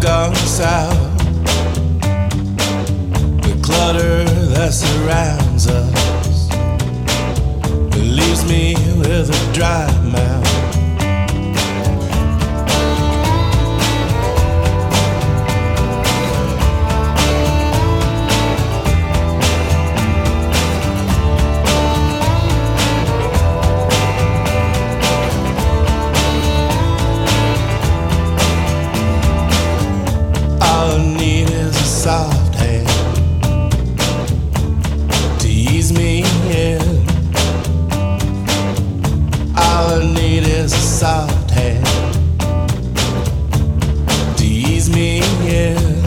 gone south. The clutter that surrounds us, it leaves me with a dry mouth. Soft hand to ease me in. All I need is a soft hand to ease me in.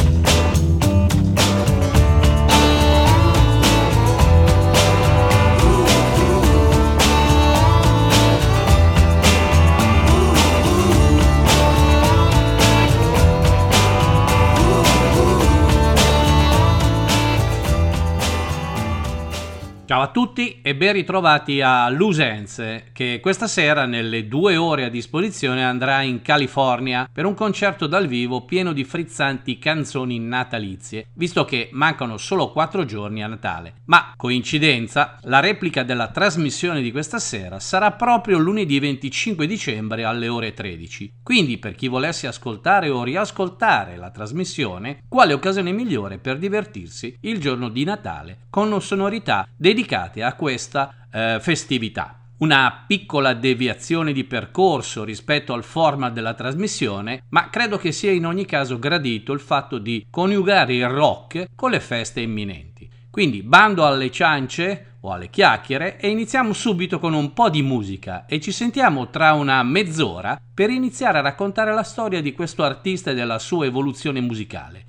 Ciao a tutti e ben ritrovati a Loose Ends, che questa sera nelle 2 ore a disposizione andrà in California per un concerto dal vivo pieno di frizzanti canzoni natalizie, visto che mancano solo 4 giorni a Natale. Ma, coincidenza, la replica della trasmissione di questa sera sarà proprio lunedì 25 dicembre alle ore 13. Quindi, per chi volesse ascoltare o riascoltare la trasmissione, quale occasione migliore per divertirsi il giorno di Natale con sonorità dedicate a questa festività. Una piccola deviazione di percorso rispetto al format della trasmissione, ma credo che sia in ogni caso gradito il fatto di coniugare il rock con le feste imminenti. Quindi bando alle ciance o alle chiacchiere e iniziamo subito con un po' di musica e ci sentiamo tra una mezz'ora per iniziare a raccontare la storia di questo artista e della sua evoluzione musicale.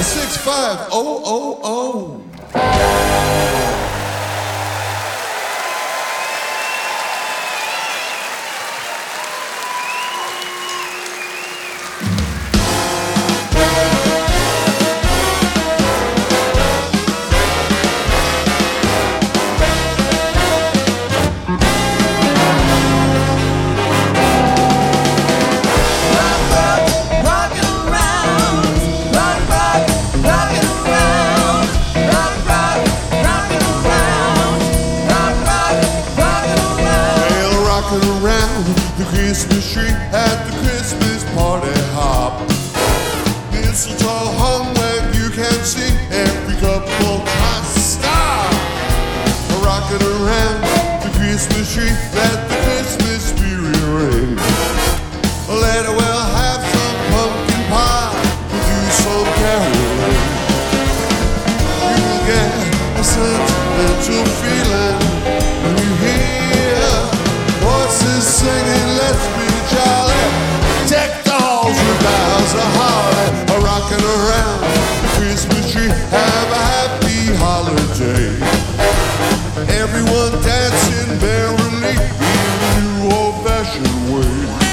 965-000. Christmas tree at the Christmas party hop. Mistletoe hung where you can see every couple tries to stop. Rocking around the Christmas tree, let the Christmas spirit ring. Let her well have some pumpkin pie, we'll do some caroling. You will get a sentimental feeling when you hear voices singing, let's be jolly. Deck the halls with boughs of holly. Rocking around the Christmas tree, have a happy holiday. Everyone dancing merrily in a new old-fashioned way.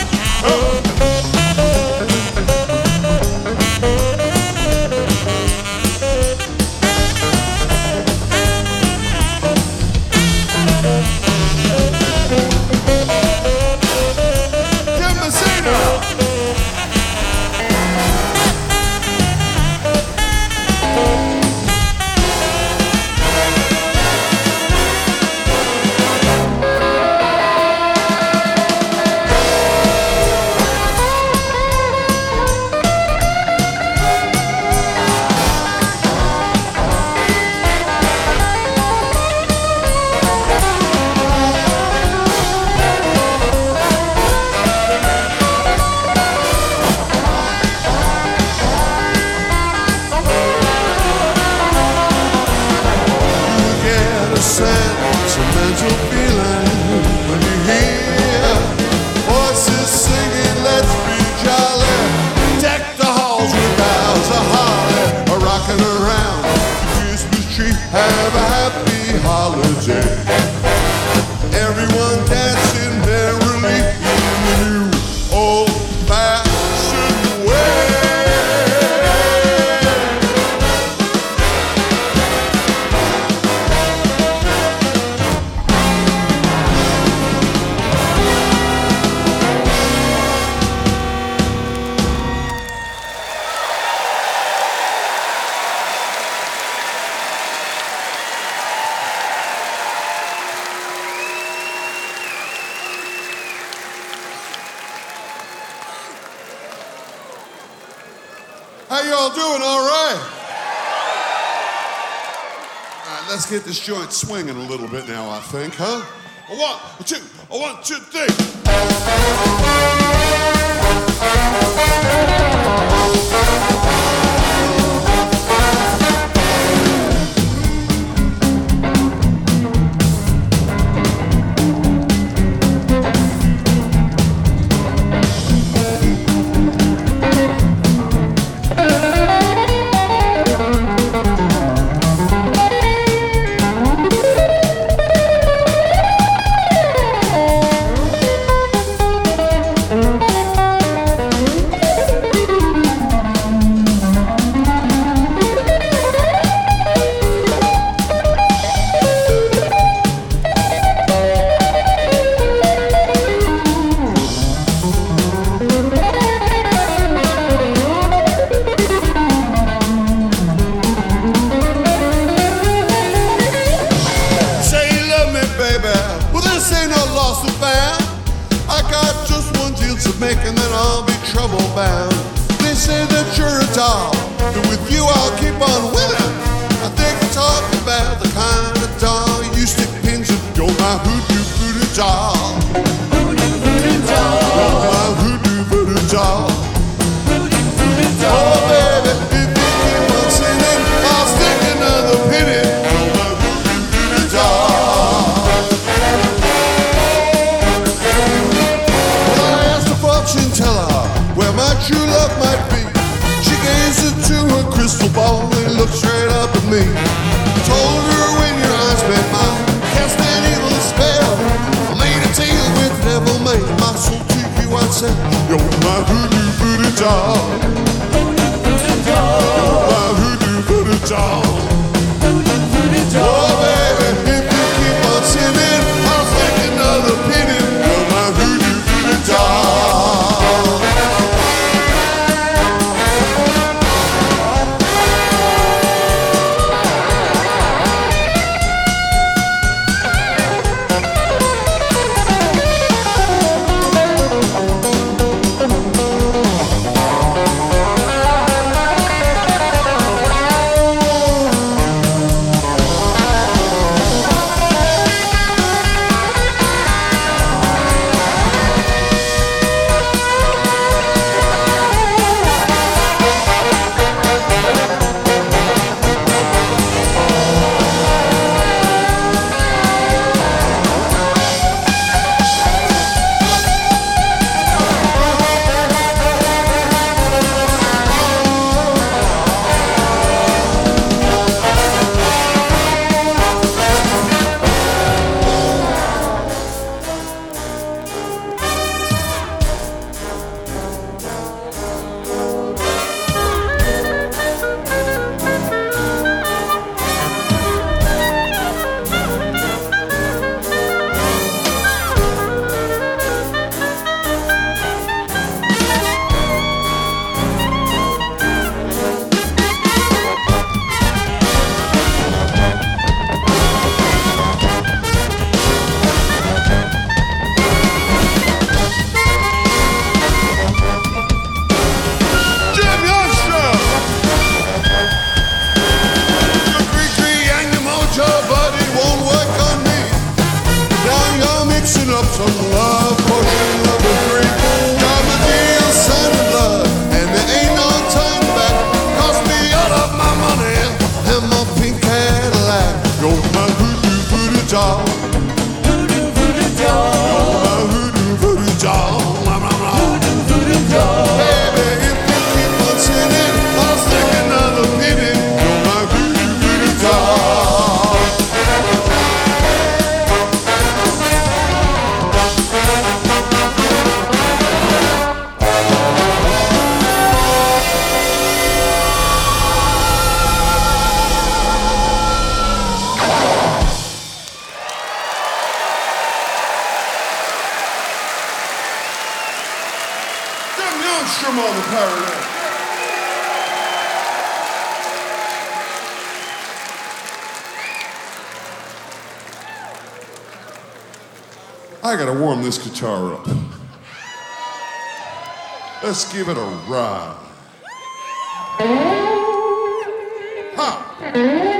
Sentimental feeling when you hear voices singing, let's be jolly. Deck the halls with boughs of holly. Rocking around the Christmas tree, have a happy holiday. Everyone dancing merrily in the new old-fashioned way. How y'all doing? All right? All right, let's get this joint swinging a little bit now, I think, huh? One, two, three. Make and then I'll be trouble bound. They say that you're a doll, and with you I'll keep on winning. I think I'm talking about the kind of doll you stick pins in. You're my hoodoo voodoo doll. Hoodoo voodoo doll. You're my hoodoo voodoo doll. Hoodoo voodoo doll. Oh baby, if you keep on singing, I'll stick another pin in. You're my hoodoo voodoo doll. Fortune teller, where my true love might be. She gazes I gotta warm this guitar up. Let's give it a ride. Ha!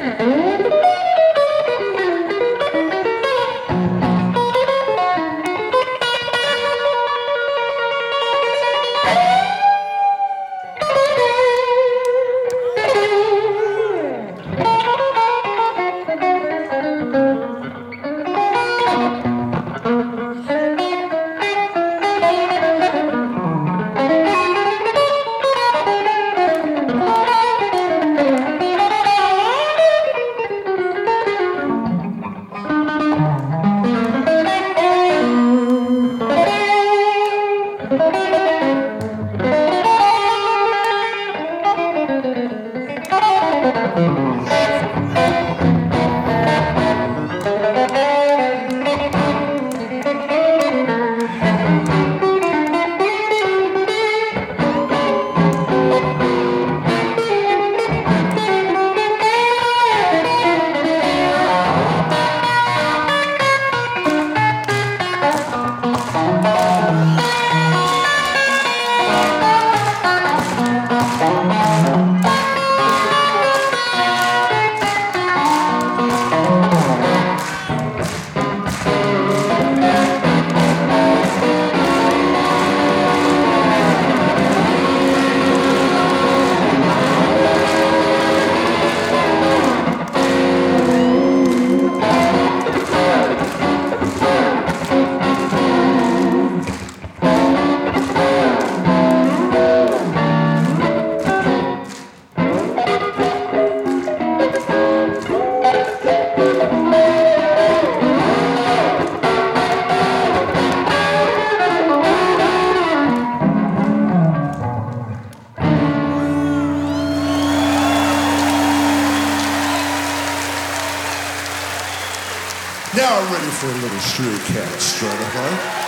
Now I'm ready for a little Stray Cat Stratified.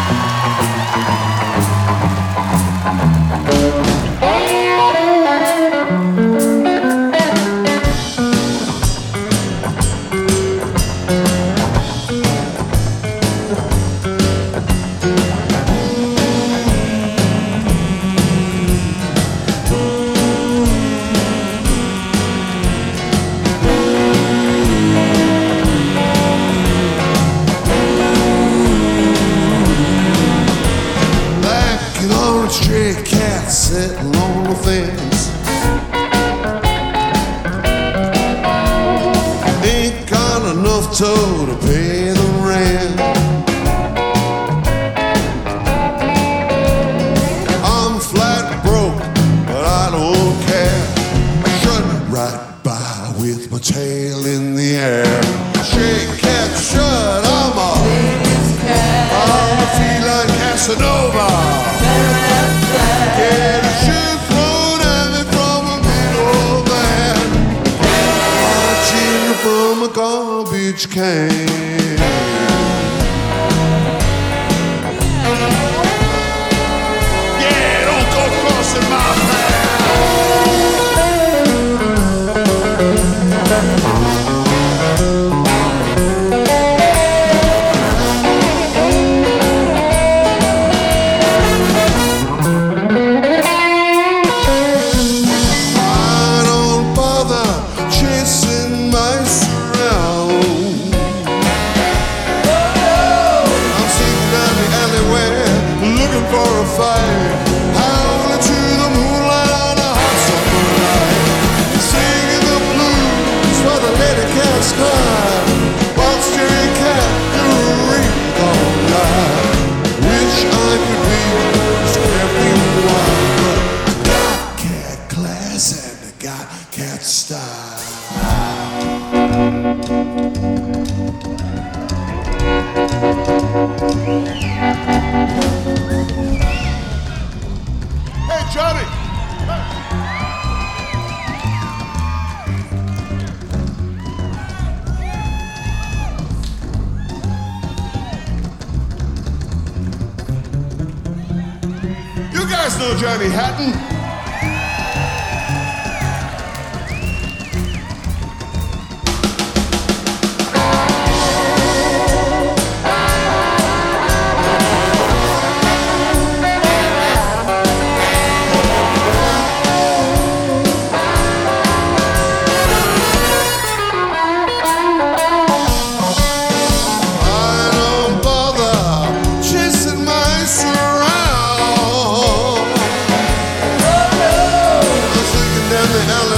Stray cat sitting on the fence. Ain't got enough dough to pay the rent. I'm flat broke, but I don't care. Strutting right by with my tail in the air. Stray cat shut, I'm a feline Casanova. Get a shoe thrown at me from a middle man, watching from a garbage can. Yeah, don't go crossing my path. Hey, Johnny! You guys know Johnny Hatton?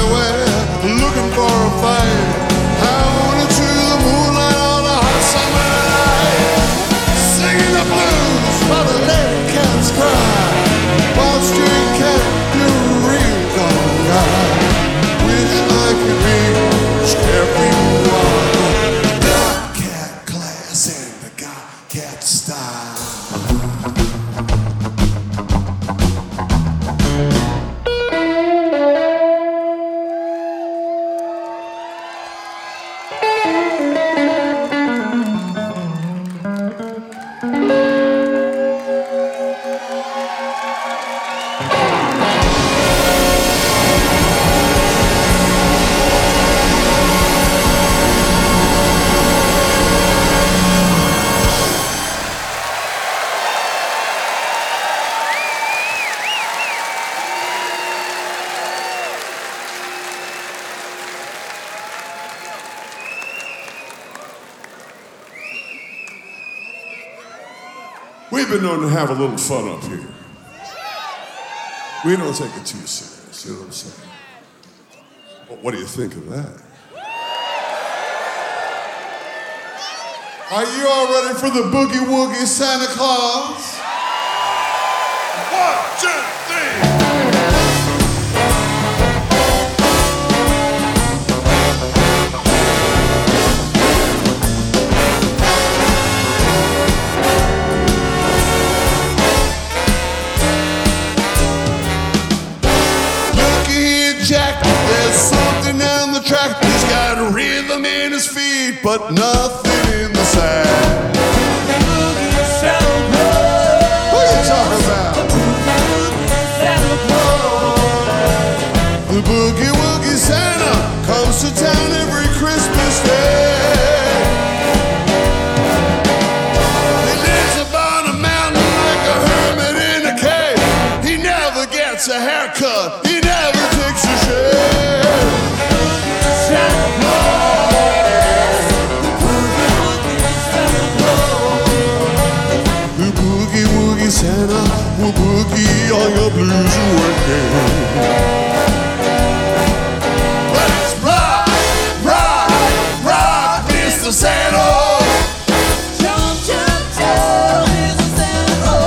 everywhere, looking for a fight. I wanted to the moonlight on a hot summer night, singing the blues while the lady cats cry. Wall Street cat, you're a real gone guy. Wish I could be as carefree you are. Got cat class and the got cat style. We've been known to have a little fun up here. We don't take it too serious, you know what I'm saying? Well, what do you think of that? Are you all ready for the Boogie Woogie Santa Claus? 1, 2, 3. Jack, there's something on the track. He's got a rhythm in his feet, but nothing in the sack. What are you talking about? The Boogie Woogie Santa comes to town every Christmas day. He lives upon a mountain like a hermit in a cave. He never gets a haircut. He never takes a shave. The Boogie Woogie Santa will boogie all your blues away. Let's rock, rock, rock, Mr. Santa. Jump, jump, jump, Mr. Santa.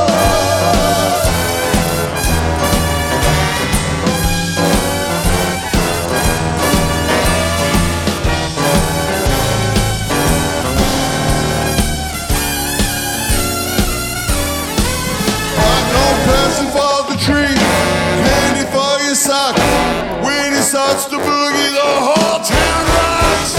Present for the tree, candy for your sock. When he starts to boogie, the whole town rocks.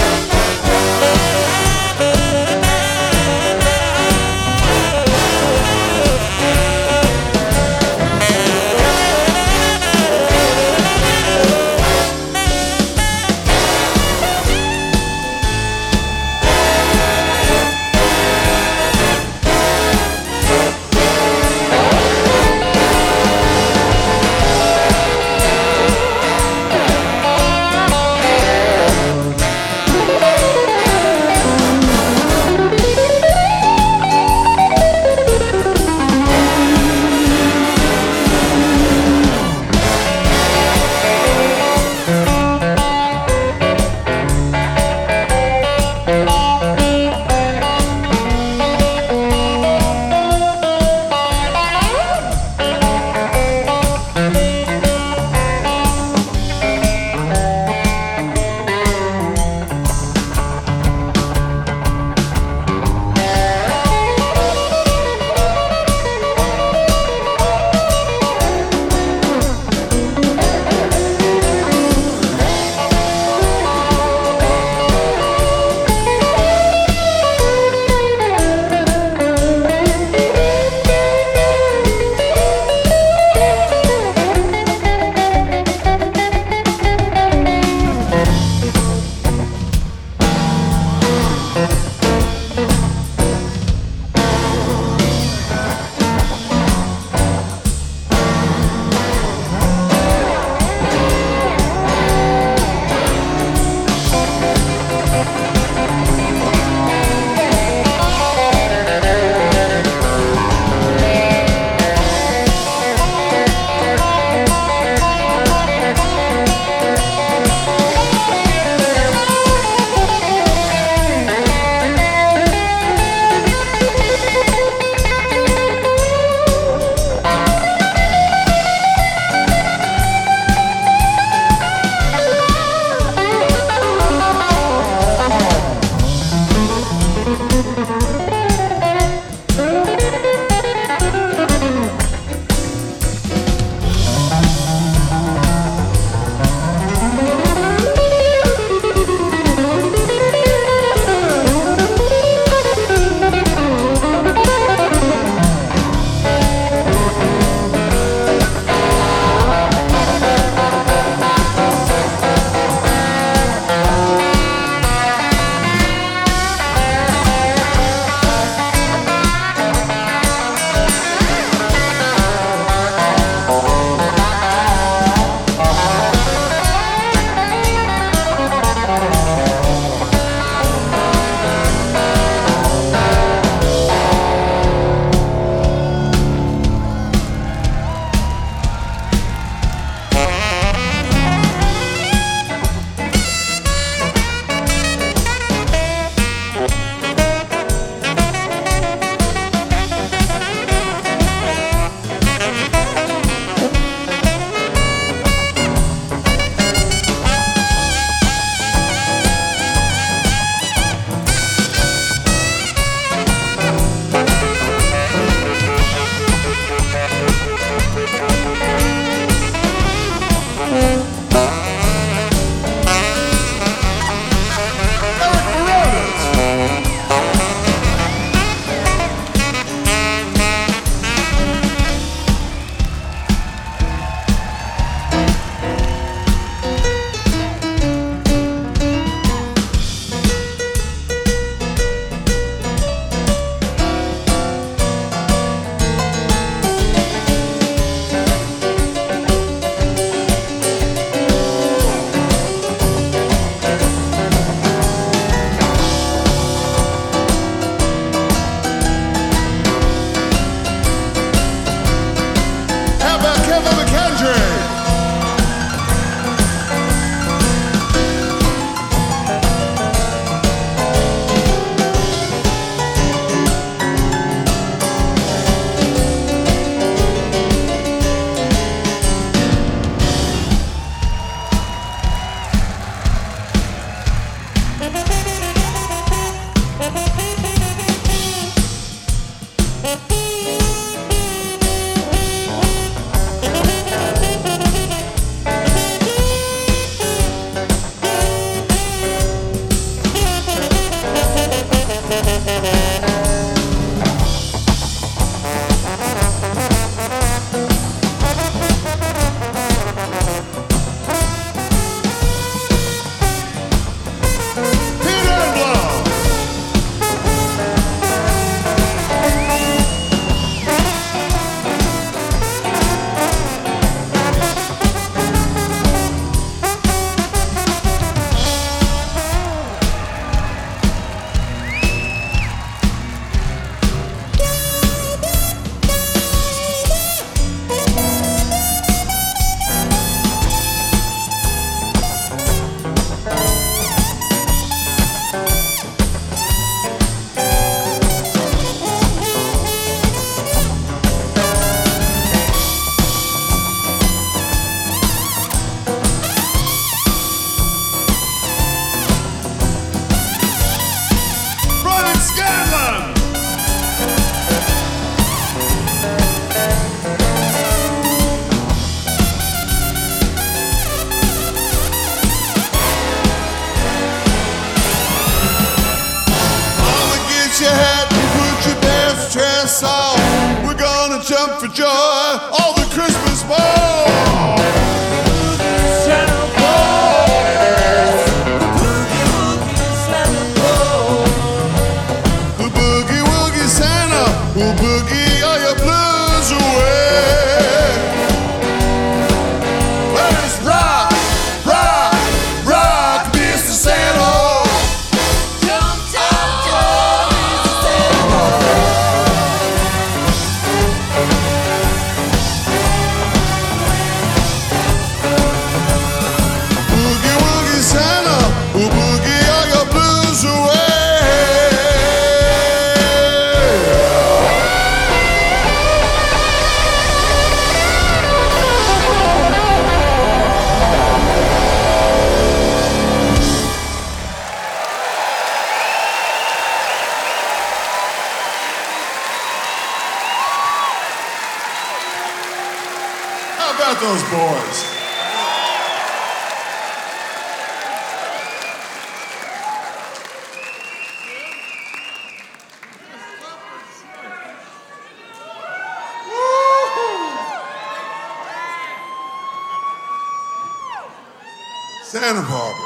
Santa Barbara.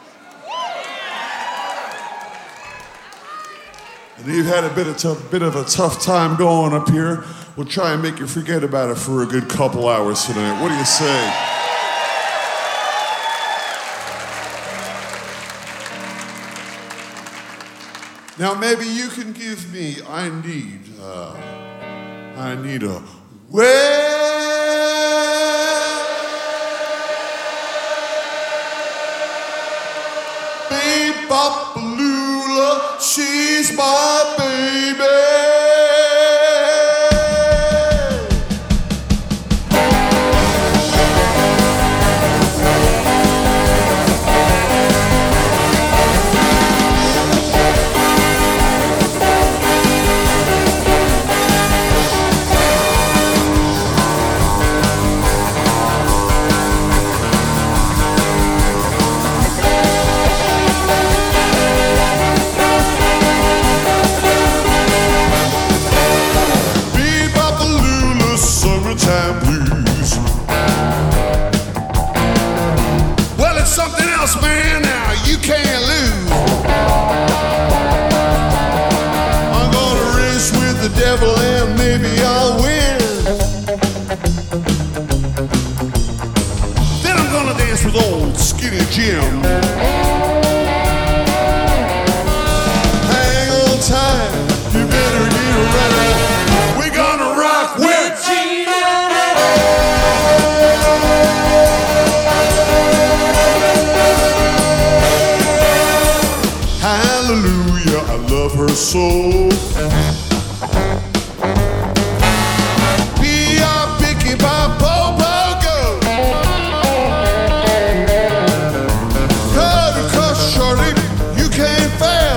And you've had a bit of a tough time going up here. We'll try and make you forget about it for a good couple hours tonight. What do you say? Now maybe you can give me, I need a Bebopalula, she's my baby. Summertime blues. Well, it's something else, man. Now you can't lose. I'm gonna race with the devil and maybe I'll win. Then I'm gonna dance with old Skinny Jim. Hang on tight, you better get ready. We're gonna rock with Hallelujah, I love her so. Picky by Popo go. Cut across shorty, you can't fail.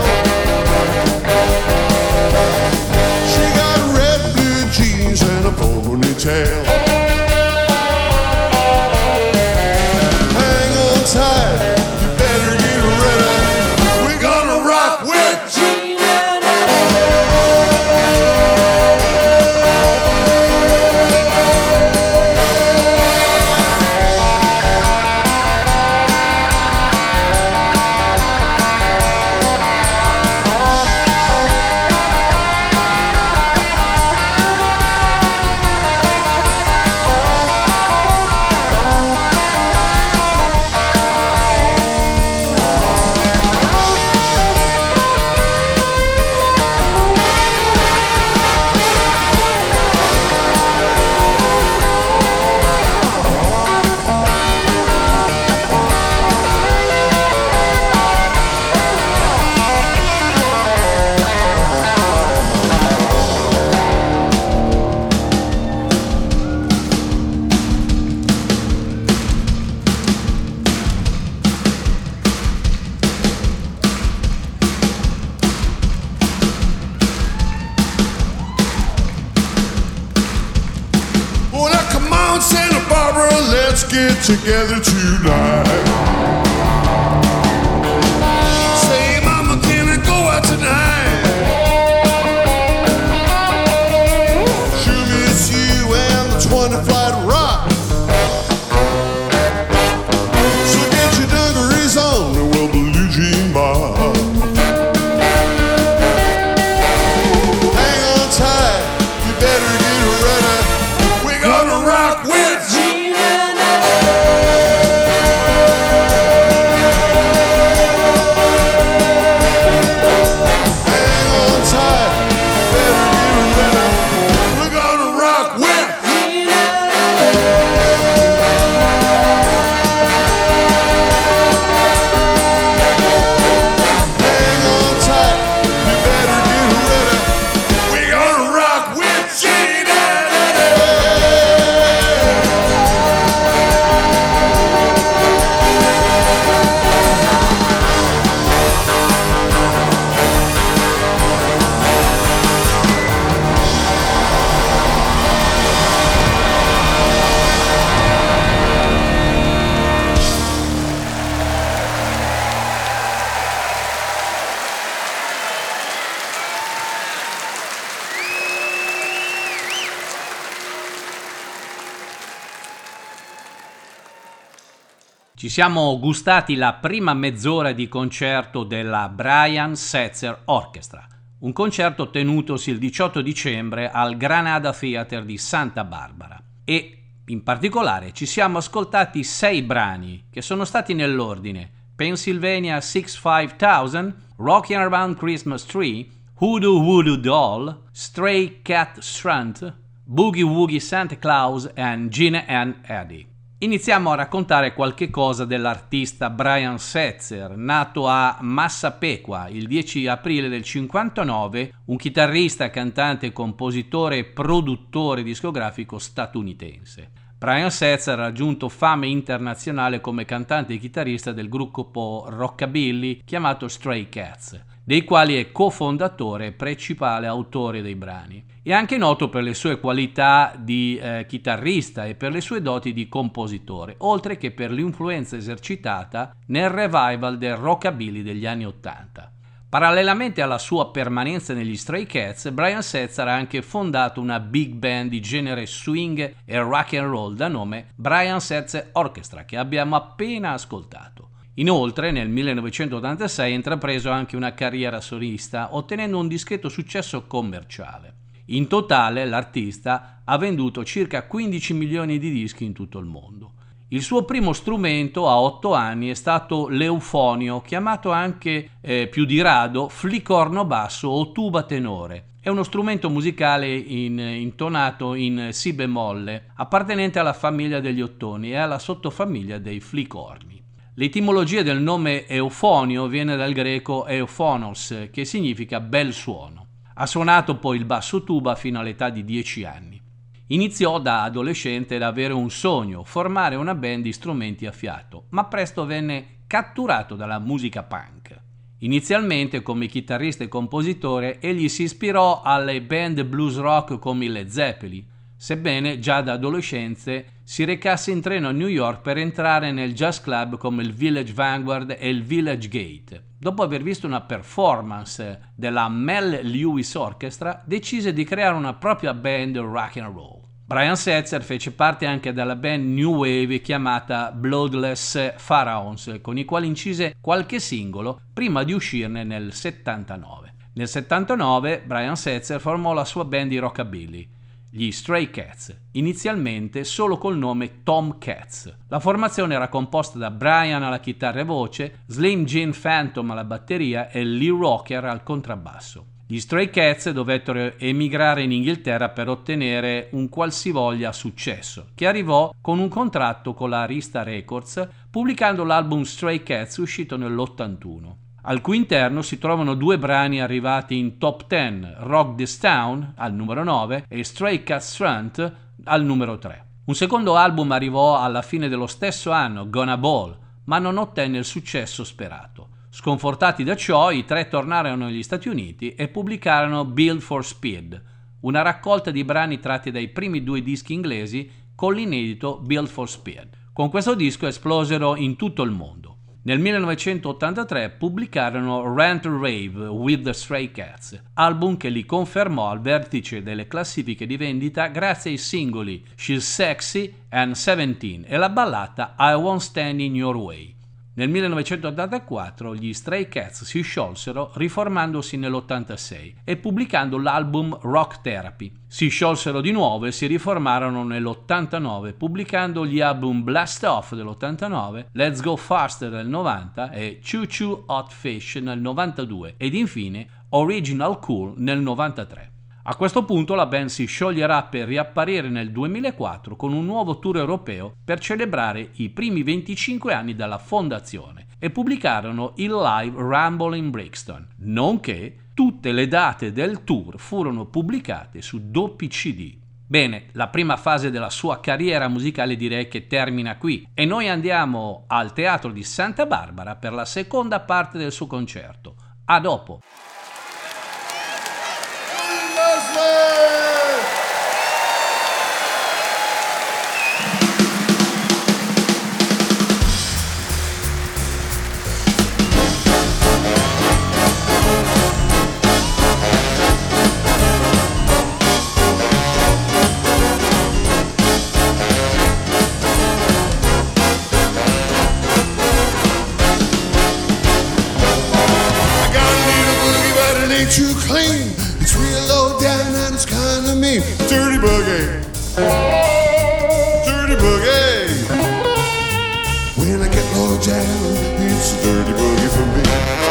She got red blue jeans and a ponytail. Hang on tight, you better get ready. We're gonna rock with Santa Barbara, let's get together tonight. Say, mama, can I go out tonight? Sure miss you and the 20 flight rock. So get your dungarees on and we'll Blue Jean Bar. Hang on tight, you better get ready. We're gonna rock with Ci siamo gustati la prima mezz'ora di concerto della Brian Setzer Orchestra, un concerto tenutosi il 18 dicembre al Granada Theatre di Santa Barbara e in particolare ci siamo ascoltati 6 brani che sono stati nell'ordine Pennsylvania 65000, Rockin' Around Christmas Tree, Hoodoo Voodoo Doll, Stray Cat Strut, Boogie Woogie Santa Claus e Gina and Eddie. Iniziamo a raccontare qualche cosa dell'artista Brian Setzer, nato a Massapequa il 10 aprile del 59, un chitarrista, cantante, compositore e produttore discografico statunitense. Brian Setzer ha raggiunto fame internazionale come cantante e chitarrista del gruppo rockabilly chiamato Stray Cats, dei quali è cofondatore e principale autore dei brani. È anche noto per le sue qualità di chitarrista e per le sue doti di compositore, oltre che per l'influenza esercitata nel revival del rockabilly degli anni '80. Parallelamente alla sua permanenza negli Stray Cats, Brian Setzer ha anche fondato una big band di genere swing e rock and roll da nome Brian Setzer Orchestra, che abbiamo appena ascoltato. Inoltre, nel 1986 ha intrapreso anche una carriera solista, ottenendo un discreto successo commerciale. In totale, l'artista ha venduto circa 15 milioni di dischi in tutto il mondo. Il suo primo strumento a 8 anni è stato l'eufonio, chiamato anche più di rado flicorno basso o tuba tenore. È uno strumento musicale intonato in si bemolle, appartenente alla famiglia degli ottoni e alla sottofamiglia dei flicorni. L'etimologia del nome eufonio viene dal greco euphonos, che significa bel suono. Ha suonato poi il basso tuba fino all'età di 10 anni. Iniziò da adolescente ad avere un sogno, formare una band di strumenti a fiato, ma presto venne catturato dalla musica punk. Inizialmente come chitarrista e compositore egli si ispirò alle band blues rock come i Led Zeppelin, sebbene già da adolescenze si recasse in treno a New York per entrare nel jazz club come il Village Vanguard e il Village Gate. Dopo aver visto una performance della Mel Lewis Orchestra, decise di creare una propria band rock and roll. Brian Setzer fece parte anche della band New Wave chiamata Bloodless Pharaohs, con i quali incise qualche singolo prima di uscirne nel 79. Nel 79 Brian Setzer formò la sua band di rockabilly, gli Stray Cats, inizialmente solo col nome Tom Cats. La formazione era composta da Brian alla chitarra e voce, Slim Jim Phantom alla batteria e Lee Rocker al contrabbasso. Gli Stray Cats dovettero emigrare in Inghilterra per ottenere un qualsivoglia successo, che arrivò con un contratto con la Arista Records, pubblicando l'album Stray Cats uscito nell'81. Al cui interno si trovano 2 brani arrivati in top 10, Rock This Town al numero 9 e Stray Cats Strut al numero 3. Un secondo album arrivò alla fine dello stesso anno, Gonna Ball, ma non ottenne il successo sperato. Sconfortati da ciò, i 3 tornarono negli Stati Uniti e pubblicarono Build for Speed, una raccolta di brani tratti dai primi 2 dischi inglesi con l'inedito Build for Speed. Con questo disco esplosero in tutto il mondo. Nel 1983 pubblicarono Rant Rave with the Stray Cats, album che li confermò al vertice delle classifiche di vendita grazie ai singoli She's Sexy and 17 e la ballata I Won't Stand in Your Way. Nel 1984 gli Stray Cats si sciolsero riformandosi nell'86 e pubblicando l'album Rock Therapy. Si sciolsero di nuovo e si riformarono nell'89 pubblicando gli album Blast Off dell'89, Let's Go Faster del 90 e Choo Choo Hot Fish nel 92 ed infine Original Cool nel 93. A questo punto la band si scioglierà per riapparire nel 2004 con un nuovo tour europeo per celebrare i primi 25 anni dalla fondazione e pubblicarono il live Rumble in Brixton, nonché tutte le date del tour furono pubblicate su doppi CD. Bene, la prima fase della sua carriera musicale direi che termina qui e noi andiamo al Teatro di Santa Barbara per la seconda parte del suo concerto. A dopo! ain't too clean. It's real low down and it's kind of mean. Dirty boogie. Dirty boogie. When I get low down, it's a dirty boogie for me.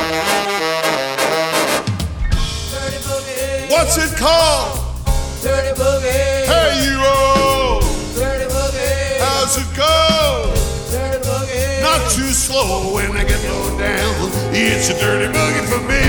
Dirty boogie. What's it called? Dirty boogie. Hey, you all. Dirty boogie. How's it go? Dirty boogie. Not too slow when I get low down. It's a dirty boogie for me.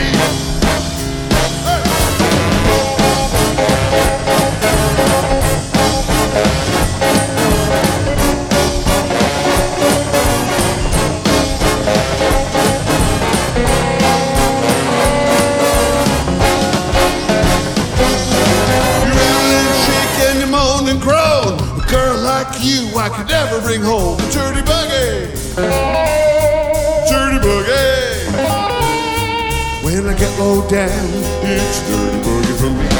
I could never bring home a dirty boogie. Dirty boogie. When I get low down, it's a dirty boogie for me.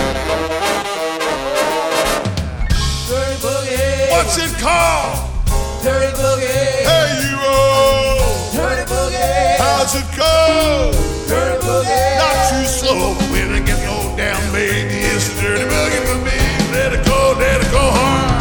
Dirty boogie. What's it called? Dirty boogie. Hey, you all. Dirty boogie. How's it go? Dirty boogie. Not too slow when I get low down, baby. It's a dirty boogie for me. Let it go hard.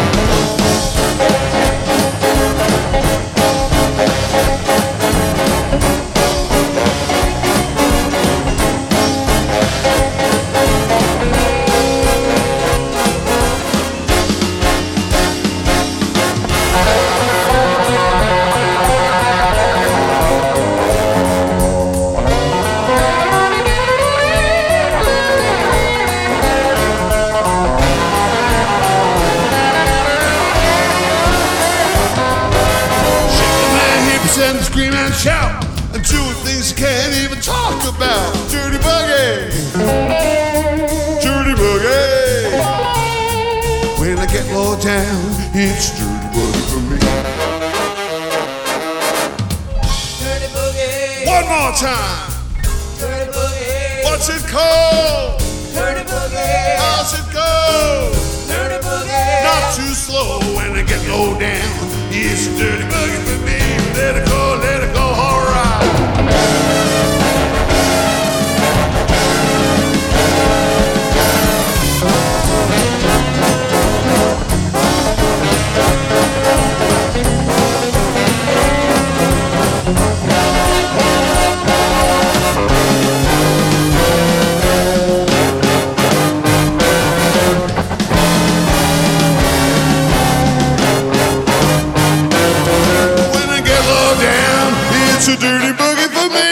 And scream and shout and doing things you can't even talk about. Dirty boogie, dirty boogie. When I get low down, it's dirty boogie for me. Dirty boogie. One more time. Dirty boogie. What's it called? Dirty boogie. How's it go? Dirty boogie. Not too slow when I get low down. It's a dirty boogie for me. Let it go, alright. It's a dirty boogie for me.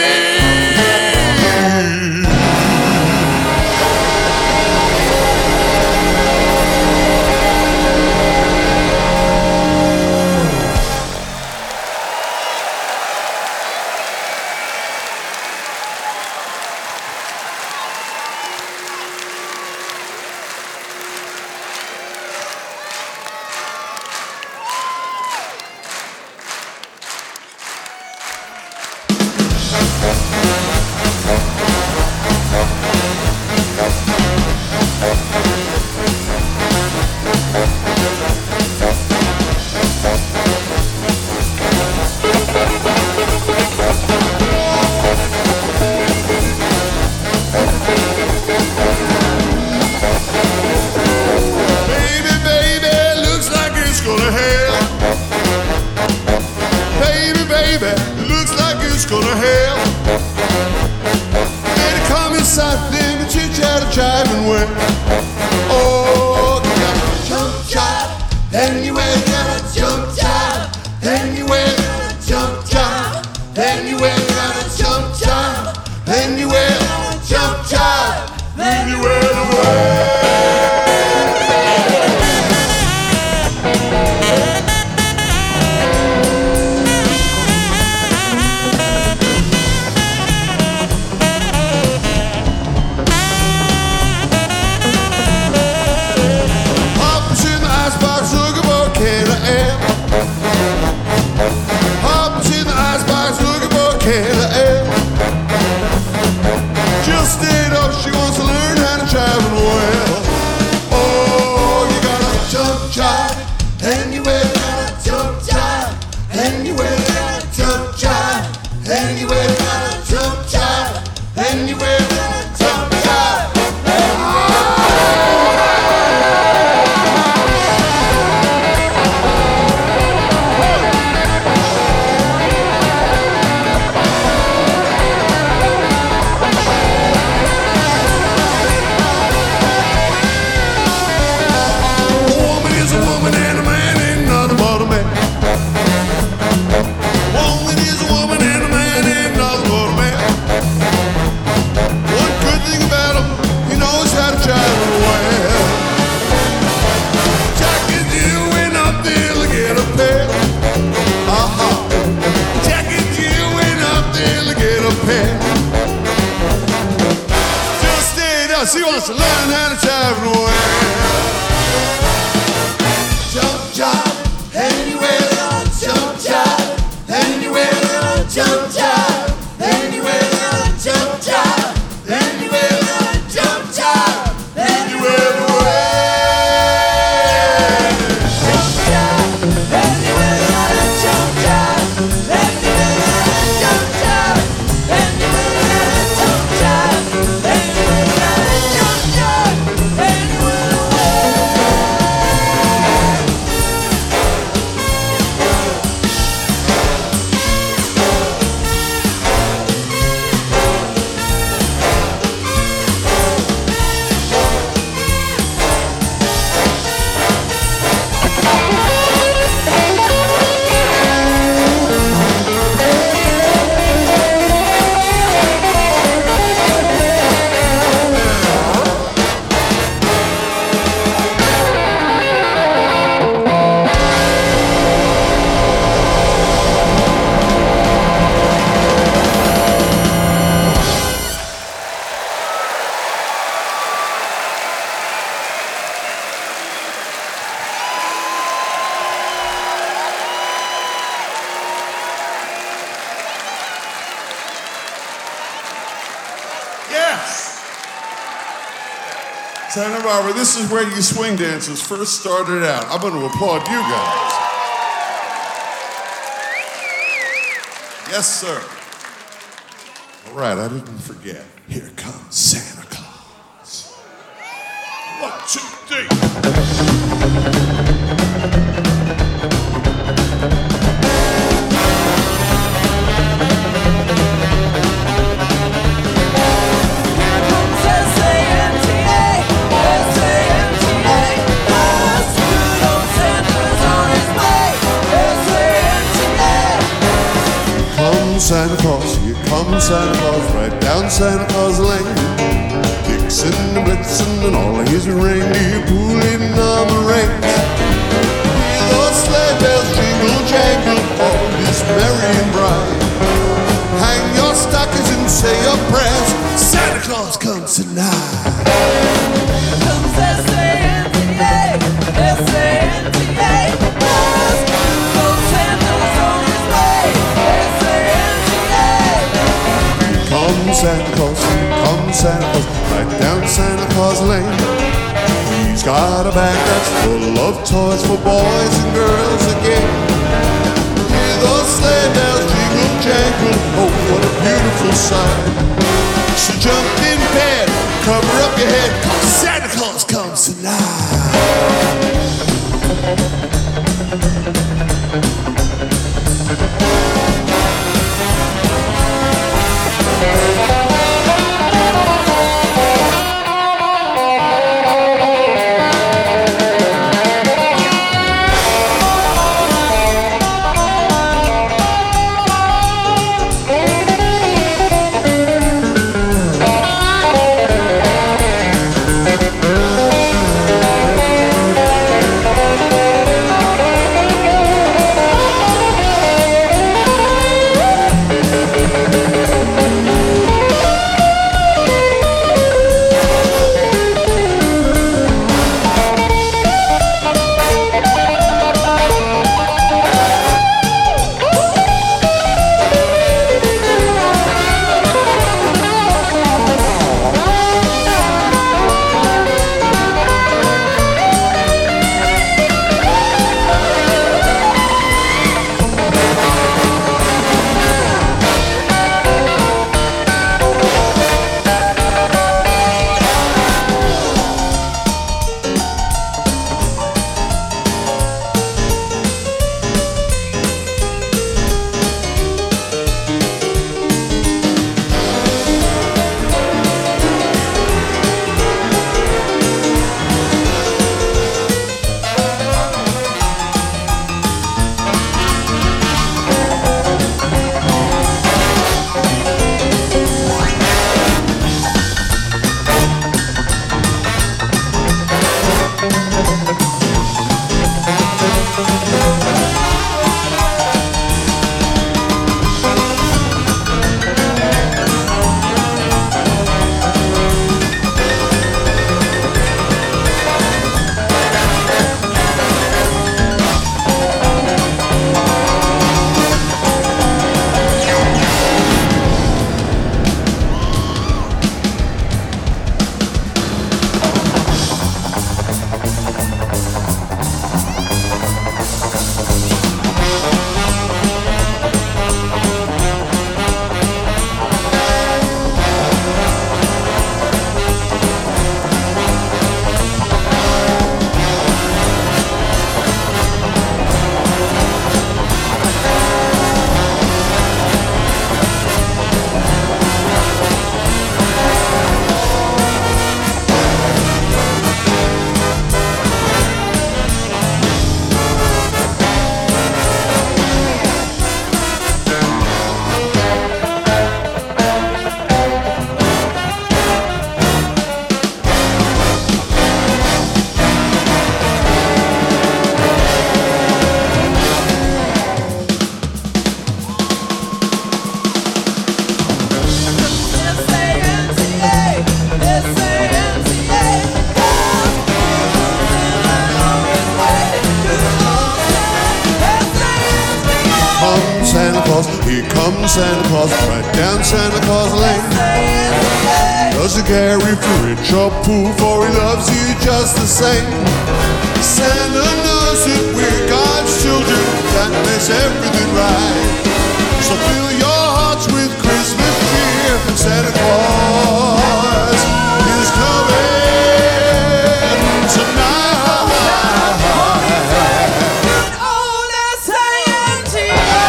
Gonna hell. Made a come inside them and chit-chat and jiving with. Oh, you gotta jump jive. Anyway, you gotta jump jive. Anyway, you gotta jump jive. Anyway, you gotta jump jive. Anyway, you gotta jump jive. Anywhere the way. pen. Just stay down, she wants to learn how to travel well. Jump jive, anywhere, jump jive, anywhere, jump jive, anywhere, jump jive, anywhere, jump jive, anywhere the way. Santa Barbara, this is where you swing dancers first started out. I'm going to applaud you guys. Yes, sir. All right, I didn't forget. Here comes Santa Claus. 1, 2, 3. Santa Claus, here comes Santa Claus, right down Santa Claus Lane. Dixon and Blitzen and all his reindeer pulling on the reins. Hear those sleigh bells jingle jangle, all is merry and bright. Hang your stockings and say your prayers, Santa Claus comes tonight. Comes S-A-N-T-A, S-A-N-T-A. Santa Claus, come Santa Claus, right down Santa Claus Lane. He's got a bag that's full of toys for boys and girls again. Hear those sleigh bells jingle jangle, oh what a beautiful sight. So jump in bed, cover up your head, 'cause Santa Claus comes tonight. Claus, here comes Santa Claus, right down Santa Claus Lane. Doesn't care if you're rich or poor, for he loves you just the same. Santa knows that we're God's children, that makes everything right. So fill your hearts with Christmas cheer, and Santa Claus is coming tonight. Oh, that's Santa.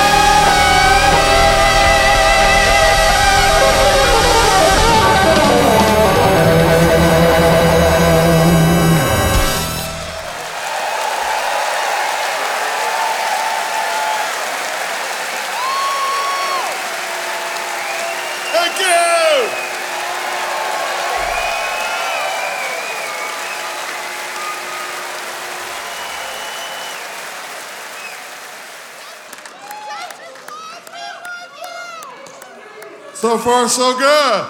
Thank you! So far, so good.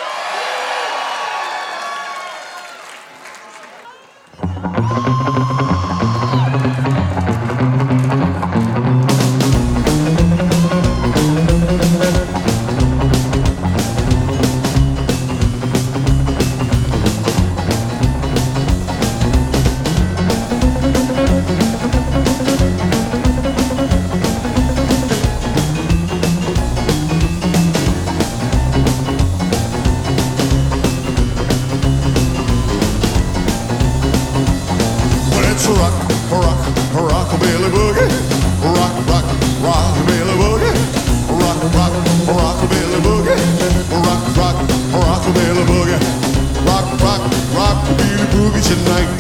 Let's rock, rock, rockabilly boogie. Rock, rock, rockabilly boogie. Rock, rock, rockabilly boogie. Rock, rock, rockabilly boogie. Rock, rock, rockabilly boogie tonight.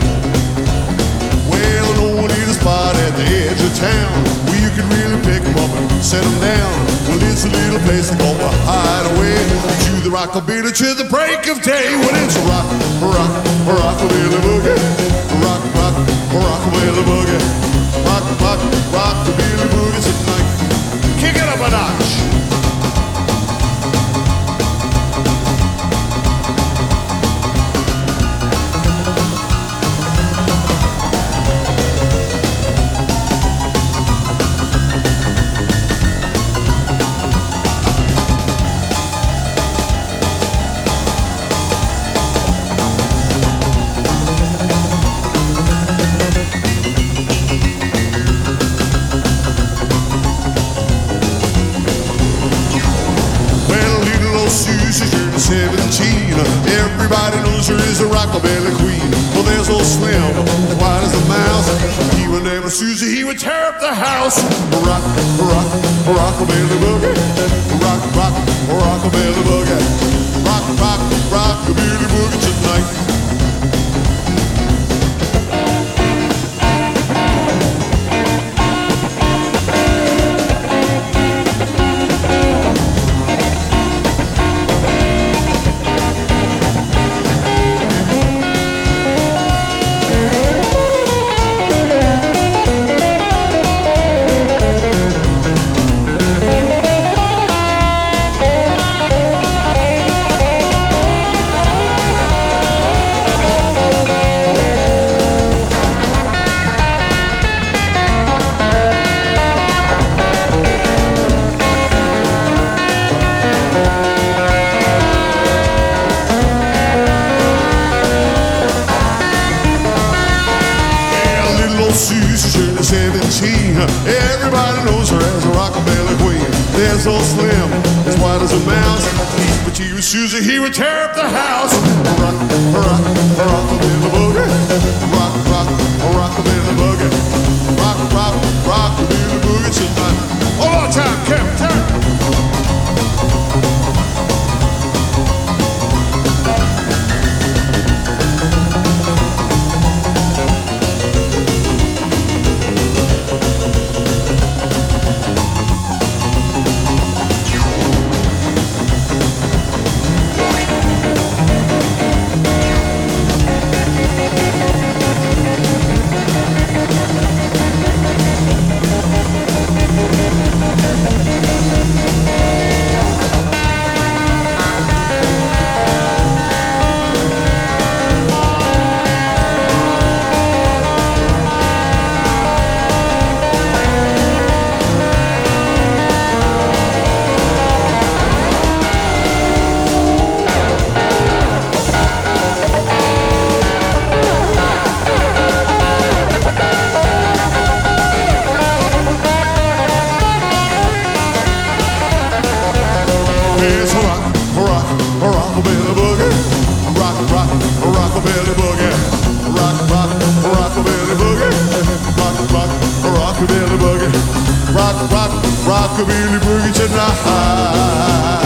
Well, I know I need a spot at the edge of town where you can really pick 'em up and set 'em down. Well, it's a little place to go to hide away. To the rockabilly to the break of day. Well, it's a rock, rock, rockabilly boogie. Rock, rock, rockabilly boogie. Rock, rock, rockabilly boogie tonight. Kick it up a notch. Susie's turning 17. Everybody knows her is a rockabilly queen. Well, there's old Slim, white as a mouse. He would never Susie, he would tear up the house. Rock, rock, rockabilly boogie. Rock, rock, rockabilly boogie. Rock, rock, rockabilly boogie tonight. Susie's turning 17. Everybody knows her as a rockabilly queen. There's old Slim, as white as a mouse. But he was Susie, he would tear up the house. Rock, rock, rockabilly boogie. Rock, rock, rockabilly boogie. Rock, rock, rockabilly boogie tonight. One more time, Kevin, turn. It's a rockabilly boogie. Rockabilly boogie. Rockabilly boogie. Rockabilly boogie. Rockabilly boogie tonight.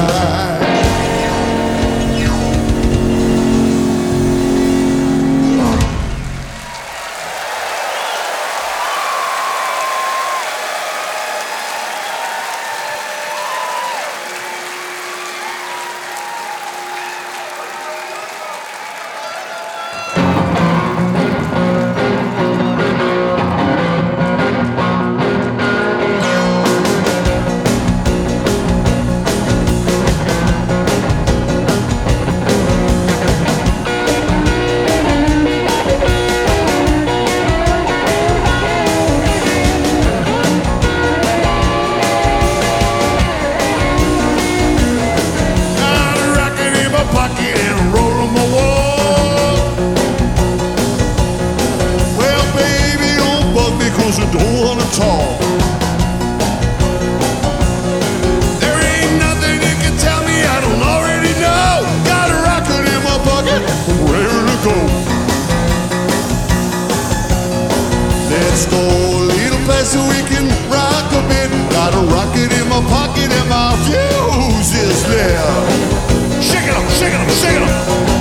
Let's go a little place so we can rock a bit. Got a rocket in my pocket and my fuse is lit. Shake it up, shake it up, shake it up.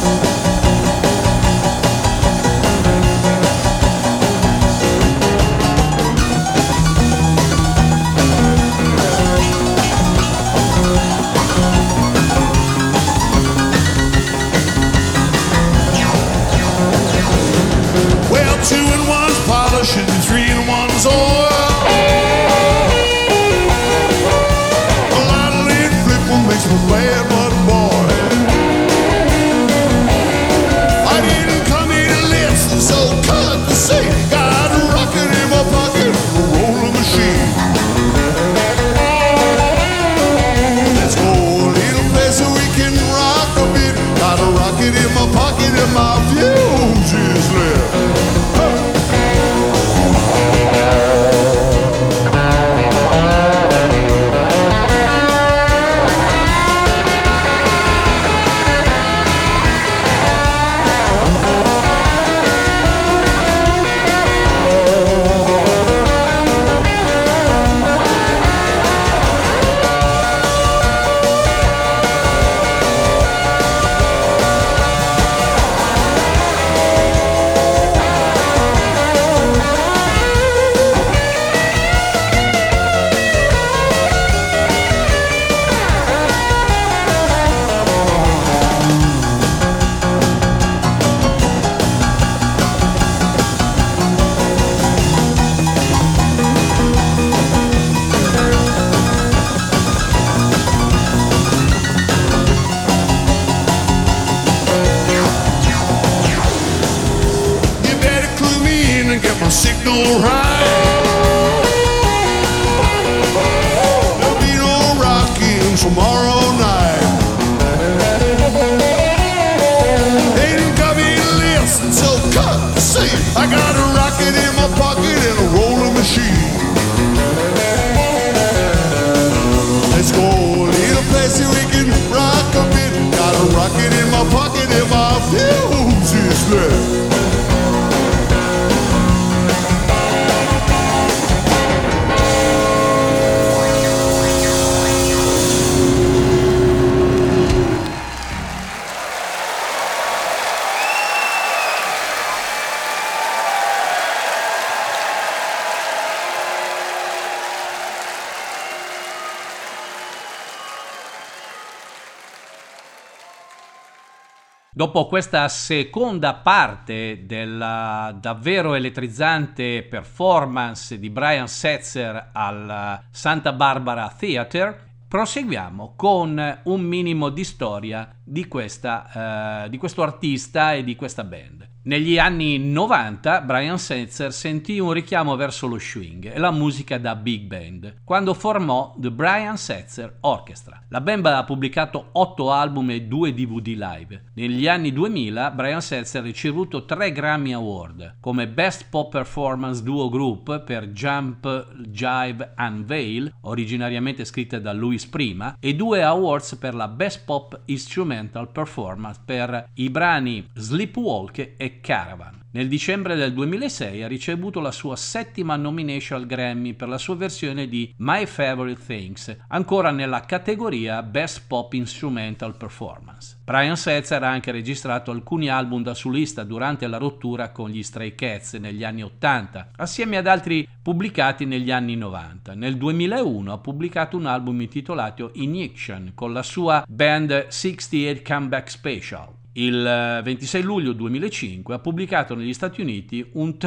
Well, 2 and 1's polish and 3 and 1's oil. A lot of lead flip makes me bad, but boy, I didn't come here to listen, so cut the seat. Got a rocket in my pocket, a rolling machine. Let's go a little place so we can rock a bit. Got a rocket in my pocket and my fuse is lit. Signal right. There'll be no rocking tomorrow night. They didn't come here to listen, so cut the seat. I got a rocket in my pocket and a rolling machine. Let's go a little place where we can rock a bit. Got a rocket in my pocket and my fuse is lit. Dopo questa seconda parte della davvero elettrizzante performance di Brian Setzer al Santa Barbara Theatre, proseguiamo con un minimo di storia di questo artista e di questa band. Negli anni 90 Brian Setzer sentì un richiamo verso lo swing e la musica da big band quando formò The Brian Setzer Orchestra. La band ha pubblicato 8 album e 2 DVD live. Negli anni 2000 Brian Setzer ha ricevuto 3 Grammy Award come Best Pop Performance Duo Group per Jump, Jive and Veil, originariamente scritta da Louis Prima, e 2 awards per la Best Pop Instrumental Performance per i brani Sleepwalk e Caravan. Nel dicembre del 2006 ha ricevuto la sua 7ª nomination al Grammy per la sua versione di My Favorite Things, ancora nella categoria Best Pop Instrumental Performance. Brian Setzer ha anche registrato alcuni album da solista durante la rottura con gli Stray Cats negli anni 80, assieme ad altri pubblicati negli anni 90. Nel 2001 ha pubblicato un album intitolato Injection con la sua band 68 Comeback Special. Il 26 luglio 2005 ha pubblicato negli Stati Uniti un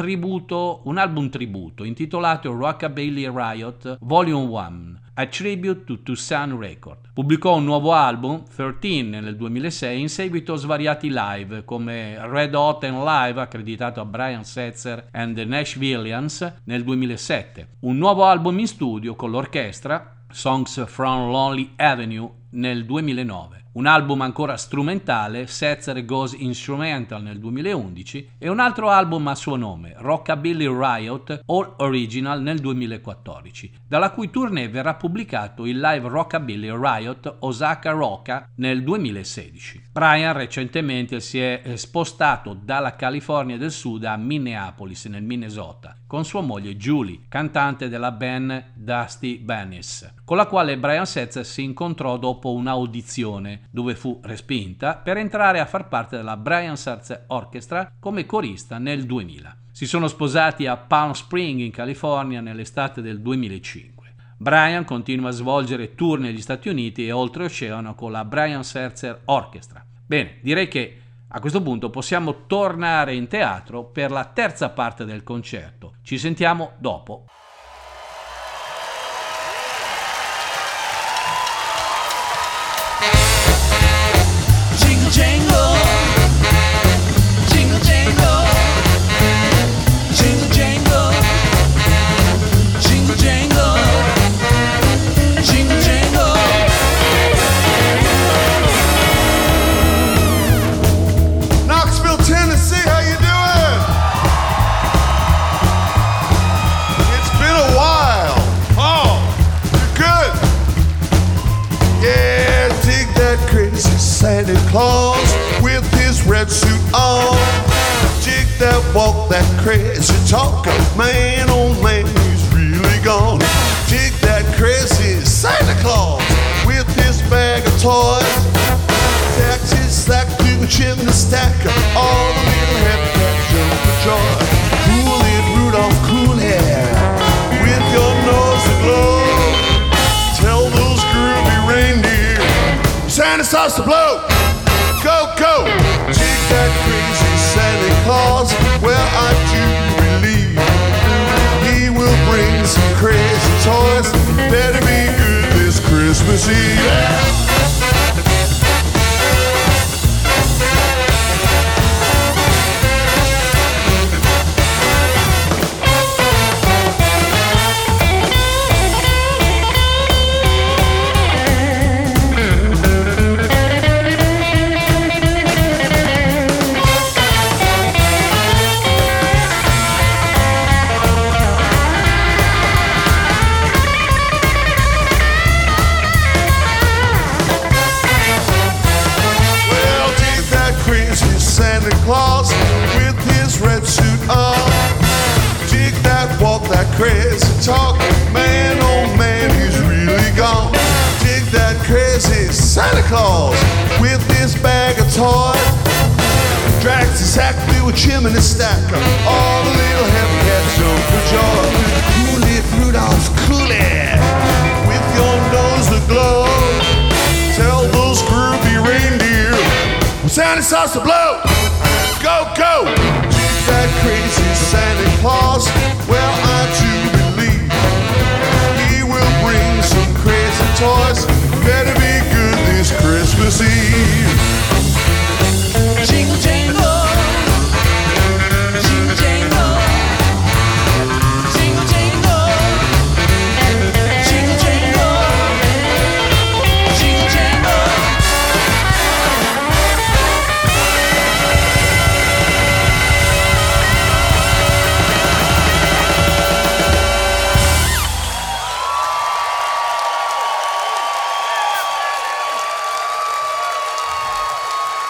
album tributo intitolato Rockabilly Riot Volume 1, A Tribute to Tucson Record. Pubblicò un nuovo album, 13, nel 2006 in seguito a svariati live come Red Hot and Live, accreditato a Brian Setzer and the Nashvillians, nel 2007. Un nuovo album in studio con l'orchestra, Songs from Lonely Avenue, nel 2009. Un album ancora strumentale, Setzer Goes Instrumental, nel 2011, e un altro album a suo nome, Rockabilly Riot All Original, nel 2014, dalla cui tournée verrà pubblicato il live Rockabilly Riot Osaka Rocka nel 2016. Brian recentemente si è spostato dalla California del Sud a Minneapolis, nel Minnesota, con sua moglie Julie, cantante della band Dusty Banis, con la quale Brian Setzer si incontrò dopo un'audizione dove fu respinta per entrare a far parte della Brian Setzer Orchestra come corista nel 2000. Si sono sposati a Palm Springs in California nell'estate del 2005. Brian continua a svolgere tour negli Stati Uniti e oltreoceano con la Brian Setzer Orchestra. Bene, direi che a questo punto possiamo tornare in teatro per la terza parte del concerto. Ci sentiamo dopo. Jingle jangle, jingle jangle, jingle jangle, jingle jangle, jingle jangle. Knoxville, Tennessee, how you doing? It's been a while. Oh, you're good. Yeah, dig that crazy Santa Claus with his red suit on. Dig that walk, that crazy talk. Man, oh man, he's really gone. Dig that crazy Santa Claus with his bag of toys. Taxes stack to the chimney stack. All the little happy cats jump for joy. Cool it, Rudolph, cool hair. With your nose aglow. Tell those groovy reindeer Santa starts to blow. Go, go. Take that crazy Santa Claus. Well, I do believe he will bring some crazy toys. Better be good this Christmas Eve. Santa Claus with his red suit on. Dig that walk, that crazy talk. Man, oh man, he's really gone. Dig that crazy Santa Claus with his bag of toys. Drags his sack through a chimney stack. All the little happy cats jump for joy. Cool it, Rudolph, cool it. With your nose aglow. Tell those groovy reindeer Santa starts to blow. Go, go. Dig that crazy Santa Claus. Well, I do believe he will bring some crazy toys. Better be good this Christmas Eve. Jingle jangle,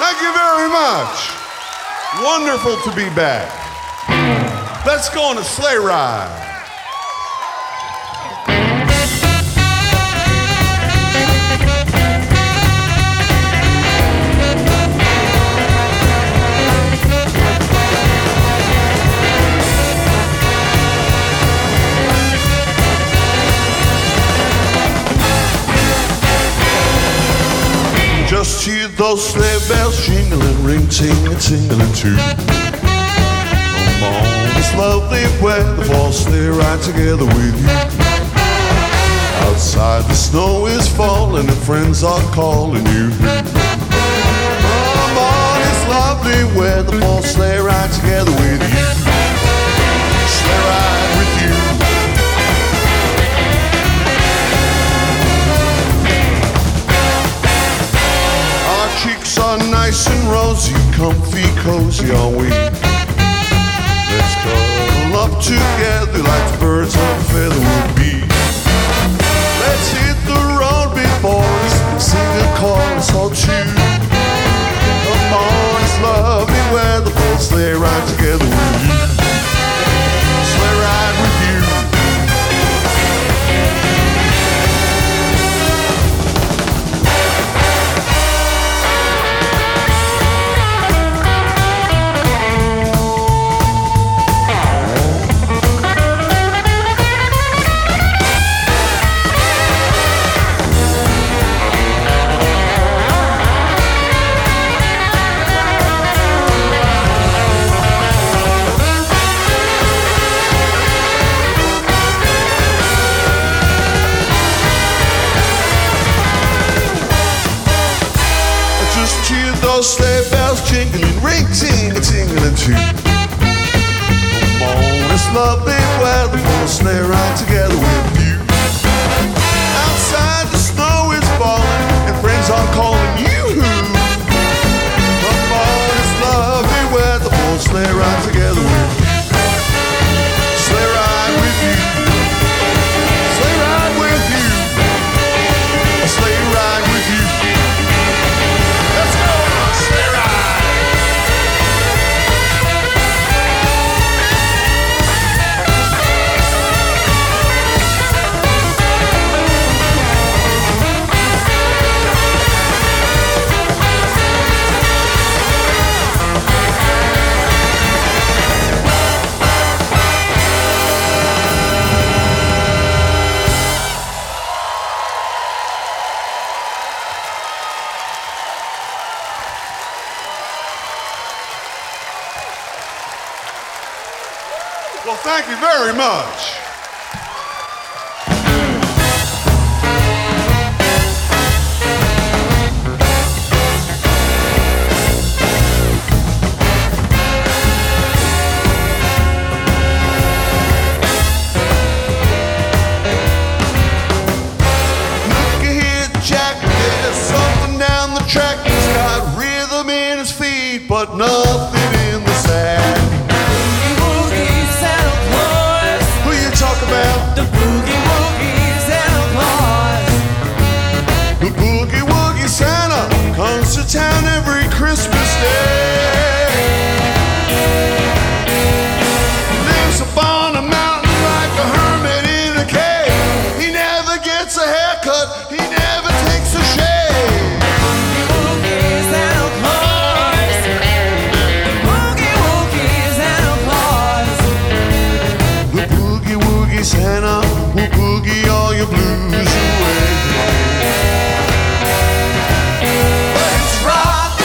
Thank you very much. Wonderful to be back. Let's go on a sleigh ride. Just hear those sleigh bells jingling, ring, ting, tingling too. Come on, this lovely weather for a sleigh ride together with you. Outside the snow is falling and friends are calling you. Come on, it's lovely weather for a sleigh ride together with you. Sleigh ride with you. Cheeks are nice and rosy, comfy, cozy are we. Let's cuddle up together like the birds of a feather would be. Let's hit the road before us, sing a chorus or two. Come on, it's lovely weather for a sleigh ride together with you. Sleigh ride with you. Those sleigh bells jingling, ring, ting, tingling too. Come on, it's lovely weather for a sleigh ride together with you. Outside the snow is falling and friends are calling you. Come on, it's lovely weather for a sleigh ride together with you. Sleigh ride with you. Sleigh ride with you. A sleigh ride with you. Let's go. Well, thank you very much. Look here, Jack, there's something down the track. He's got rhythm in his feet, but nothing in the sack. The boogie woogie Santa Claus. The boogie woogie Santa comes to town every Christmas day. Lives upon a mountain like a hermit in a cave. He never gets a haircut, he never takes a shave. Boogie Santa Claus. The boogie woogie Santa Claus. The boogie woogie Santa will boogie all your blues away. Let's rock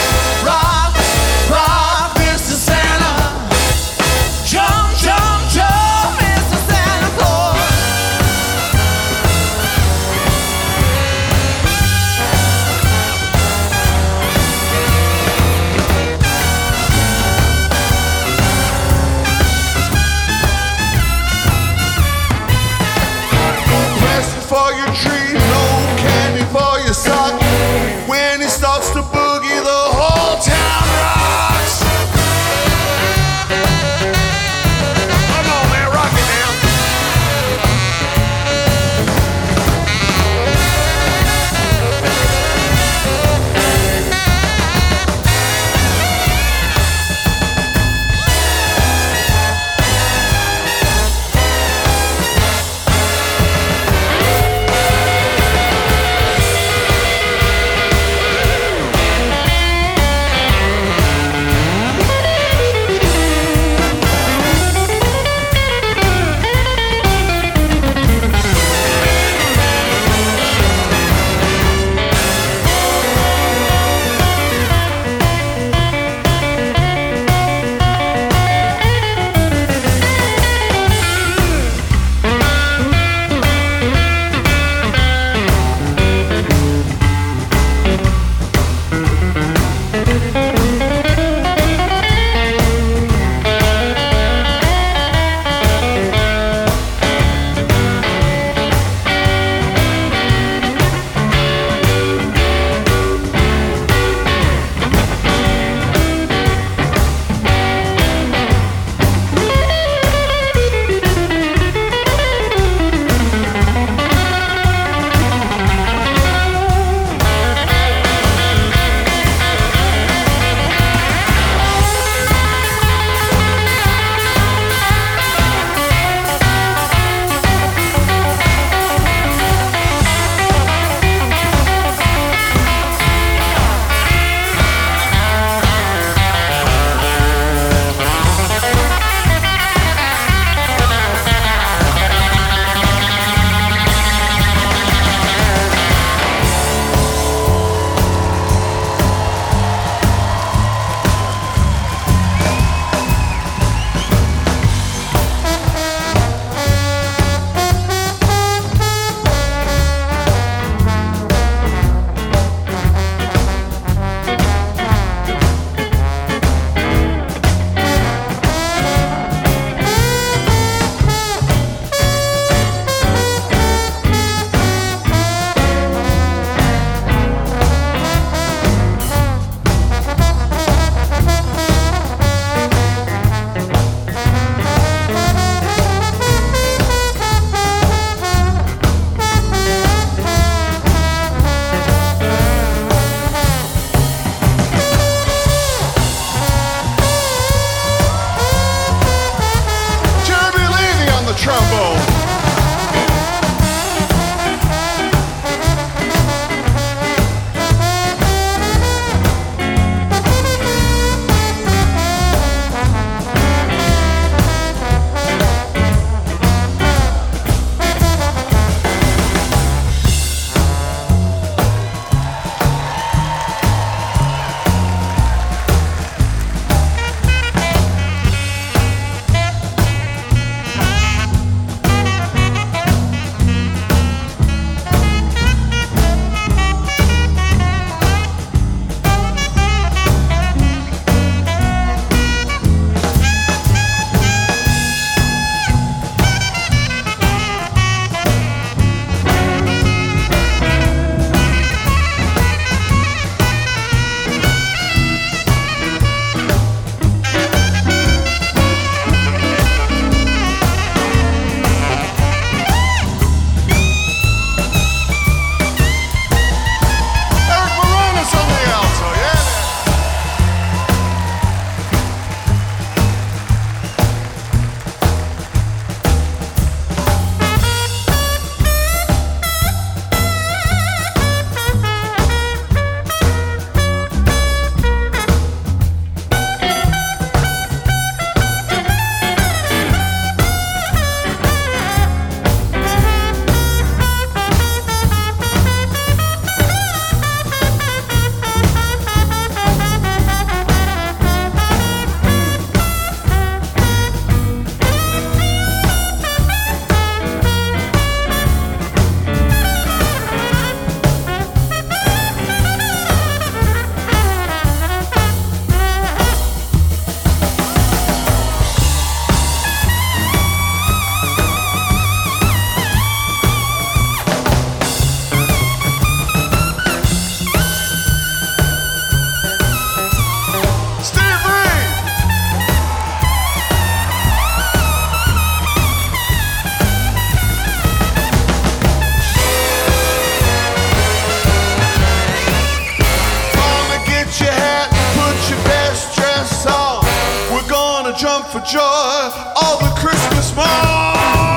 jump for joy, all the Christmas morn.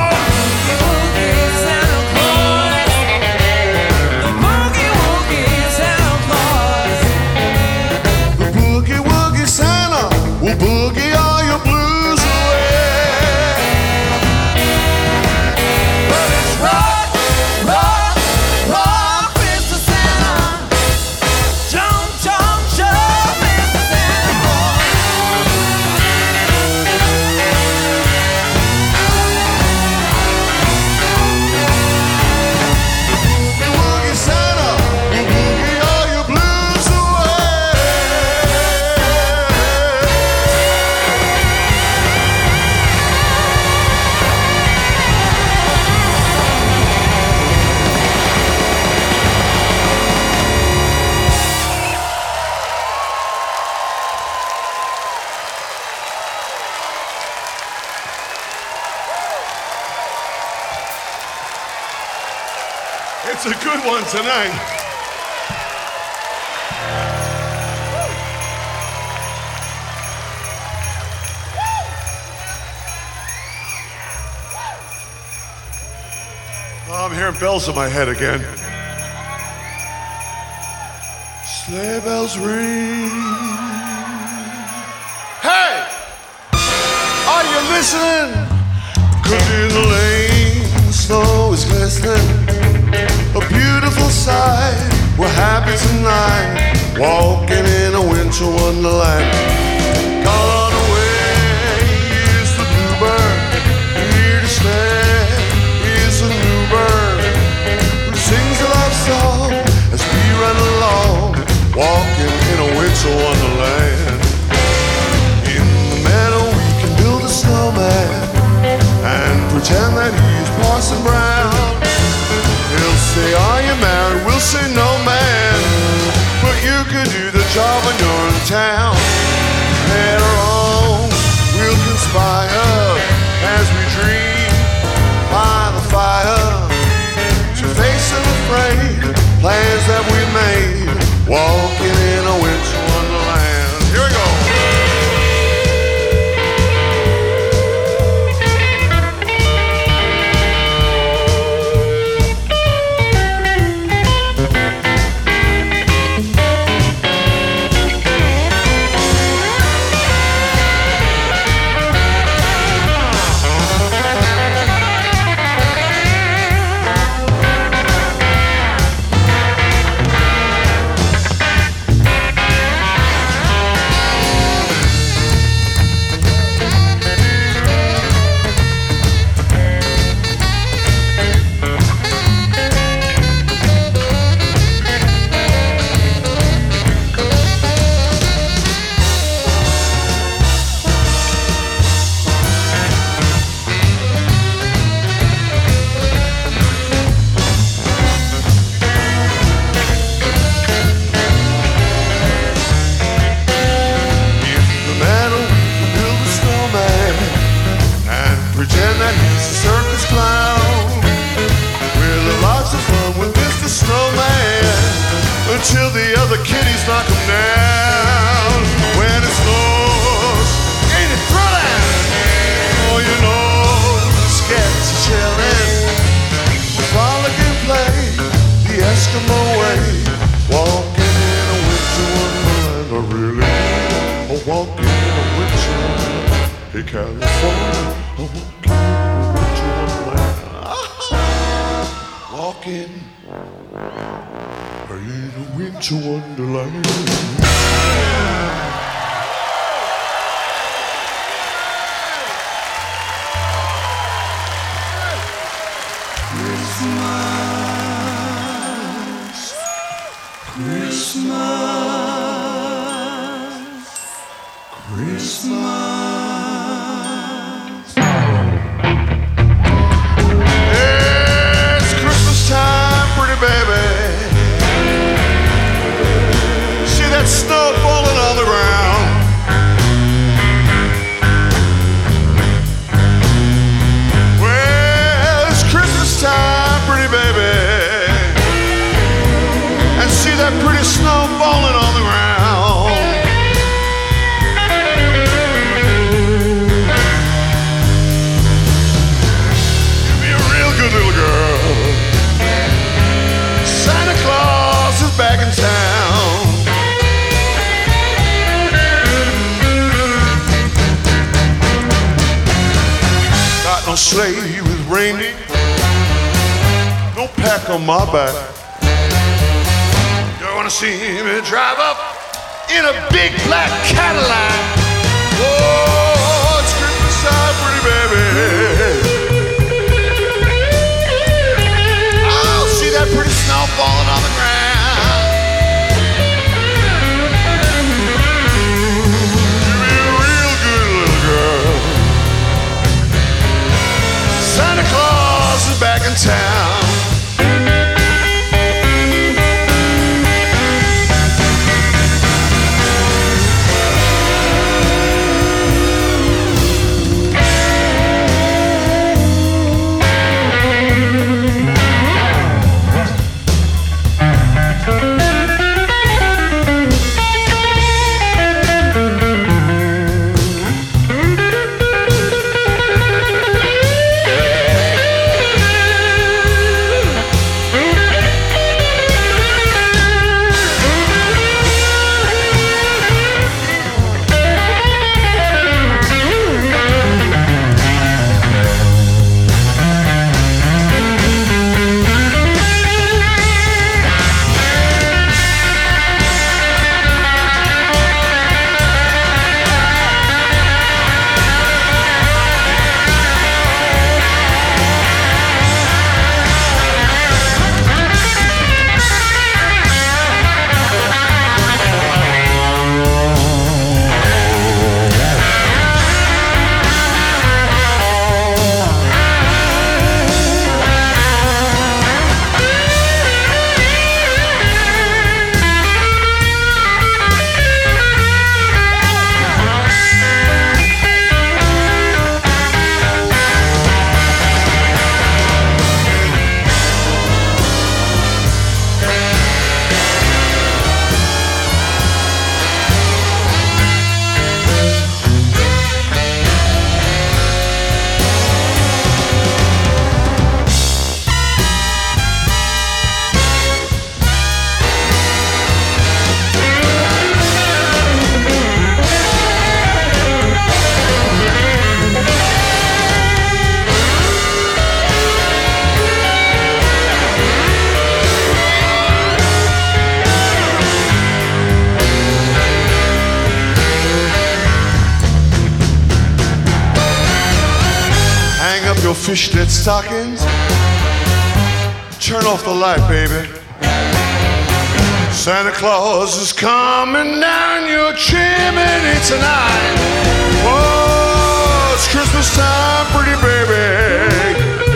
We'll boogie all your blues away. But it's rock, rock, rock, Mr. Santa. Jump, jump, jump, Mr. Santa boy. Boogie, woogie Santa, we'll boogie all your blues away. It's a good one tonight. Oh, I'm hearing bells in my head again. Sleigh bells ring. Hey! Are you listening? 'Cause in the lane, snow is glistening. A beautiful sight, we're happy tonight, walking in a winter wonderland. Gone away is the bluebird, here to stay is a new bird, who sings a love song as we run along, walking in a winter wonderland. In the meadow we can build a snowman, and pretend that he's Parson Brown. He'll say, are you married? We'll say, no, man. But you can do the job when you're in town. Later on, we'll conspire as we dream by the fire to face unafraid plans that we made, walking in a winter wonderland. Here we go. Until the other kitties knock him down. When it snows, ain't it thrilling? Oh, you know, the scats are chilling. We frolic and play the Eskimo way, walking in a winter wonderland. I really am walking in a winter wonderland. Hey, California, I'm walking in a winter wonderland. Walking in a winter wonderland. It's Christmas time, pretty baby. See that snow falling on the ground. Well, it's Christmas time, pretty baby. And see that pretty snow falling on the ground. raining. Don't pack on my back. You're gonna see me drive up in a big black Cadillac. Oh, it's Christmas time, pretty baby. Oh, see that pretty snow falling on the ground. Santa Claus is back in town. Fishnet stockings. Turn off the light, baby. Santa Claus is coming down your chimney tonight. Oh, it's Christmas time, pretty baby.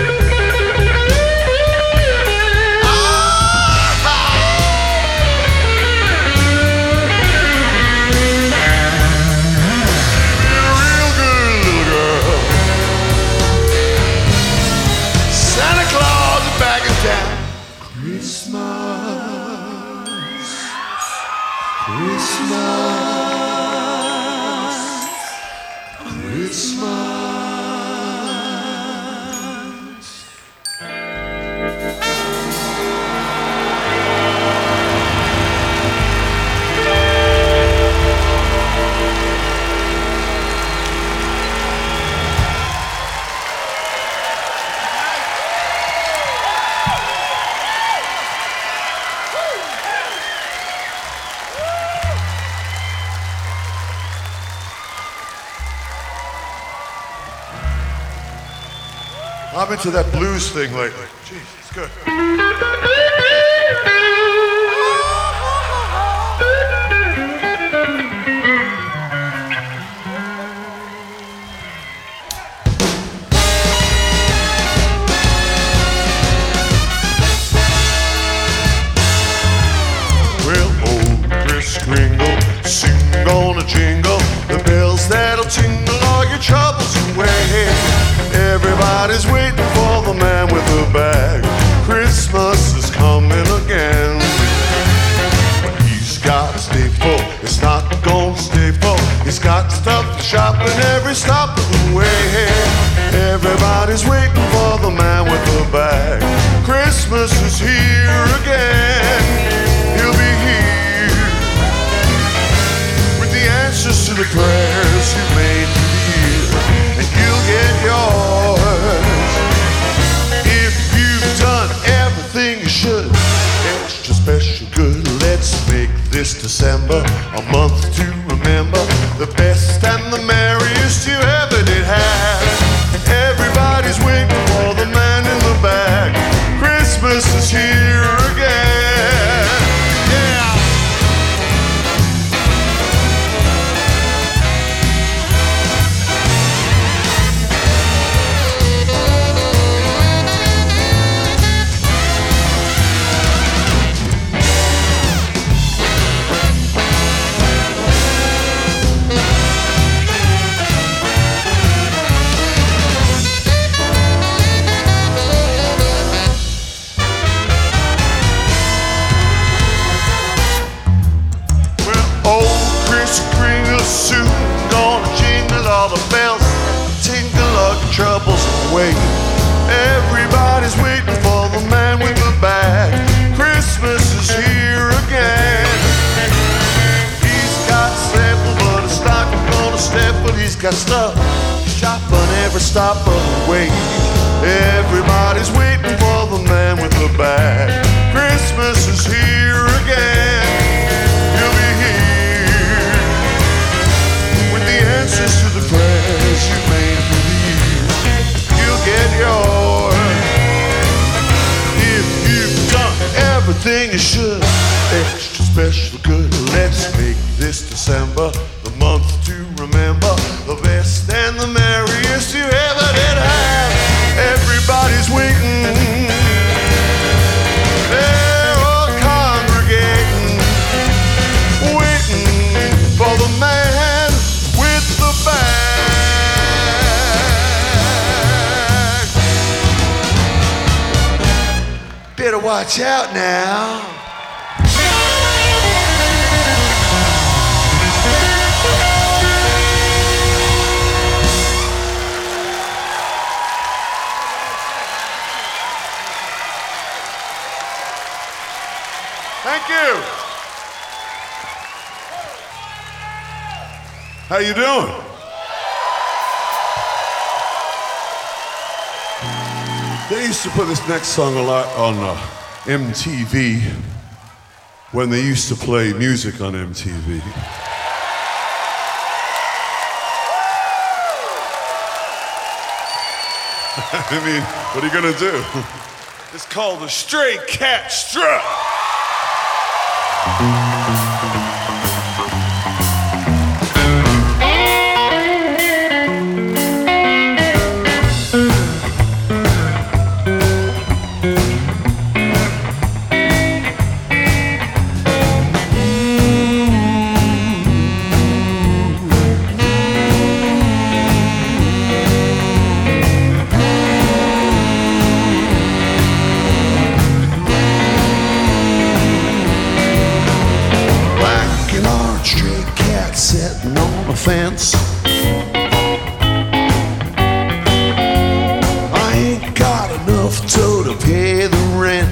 I'm into that blues thing lately. Jeez, it's good. Well, old Kris Kringle, sing on a jingle, the bells that'll tingle all your troubles away. Everybody's waiting for the man with the bag. Christmas is coming again. He's got to stay full, it's not gonna stay full. He's got stuff to shop in every stop of the way. Everybody's waiting for the man with the bag. Christmas is here again. He'll be here with the answers to the prayers you made through the year. And you'll get yours this December a month to remember, the best and the merriest you ever did have. Everybody's waiting for the man in the back. Christmas is here again. Yeah. Soon gonna jingle all the bells, tinkle all your troubles away. Everybody's waiting for the man with the bag. Christmas is here again. He's got sample, but it's not gonna step. But he's got stuff, shop on every stop of the way. Everybody's waiting for the man with the bag. Christmas is here again. He'll be here. Answers to the prayers you made for the years. You'll get yours if you've done everything you should. Extra special good. Let's make this December the month to remember, the best and the merriest you ever did have. Everybody's waiting. They're all congregating, waiting for the man with the bag. Better watch out now. Thank you. How you doing? They used to put this next song a lot on MTV when they used to play music on MTV. I mean, what are you gonna do? It's called the Stray Cat Strut. Sitting on a fence. I ain't got enough to pay the rent.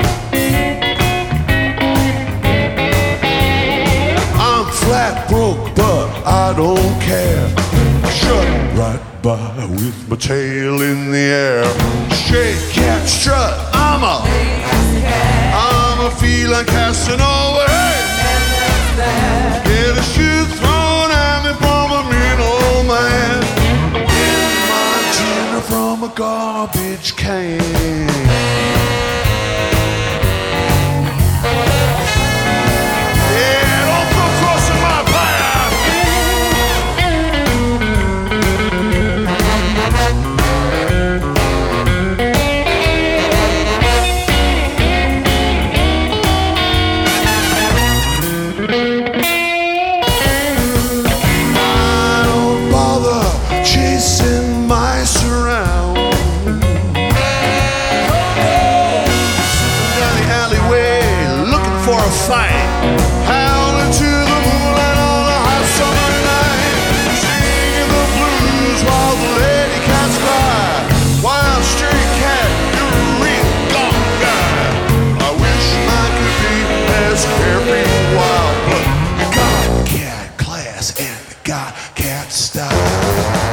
I'm flat broke, but I don't care. Shut right by with my tail in the air. Stray cat strut, I'm a feline casting over. Get a shoe thrown at me from a mean old man in Montana from a garbage can. Yeah, don't go crossing my path. Chasing mice around, slipping down the alleyway, looking for a fight, howling to the moonlight on a hot summer night, singing the blues while the lady cats cry. Wild stray cat, you're a real gone guy. I wish I could be as carefree and wild, but you got cat class and you got cat style.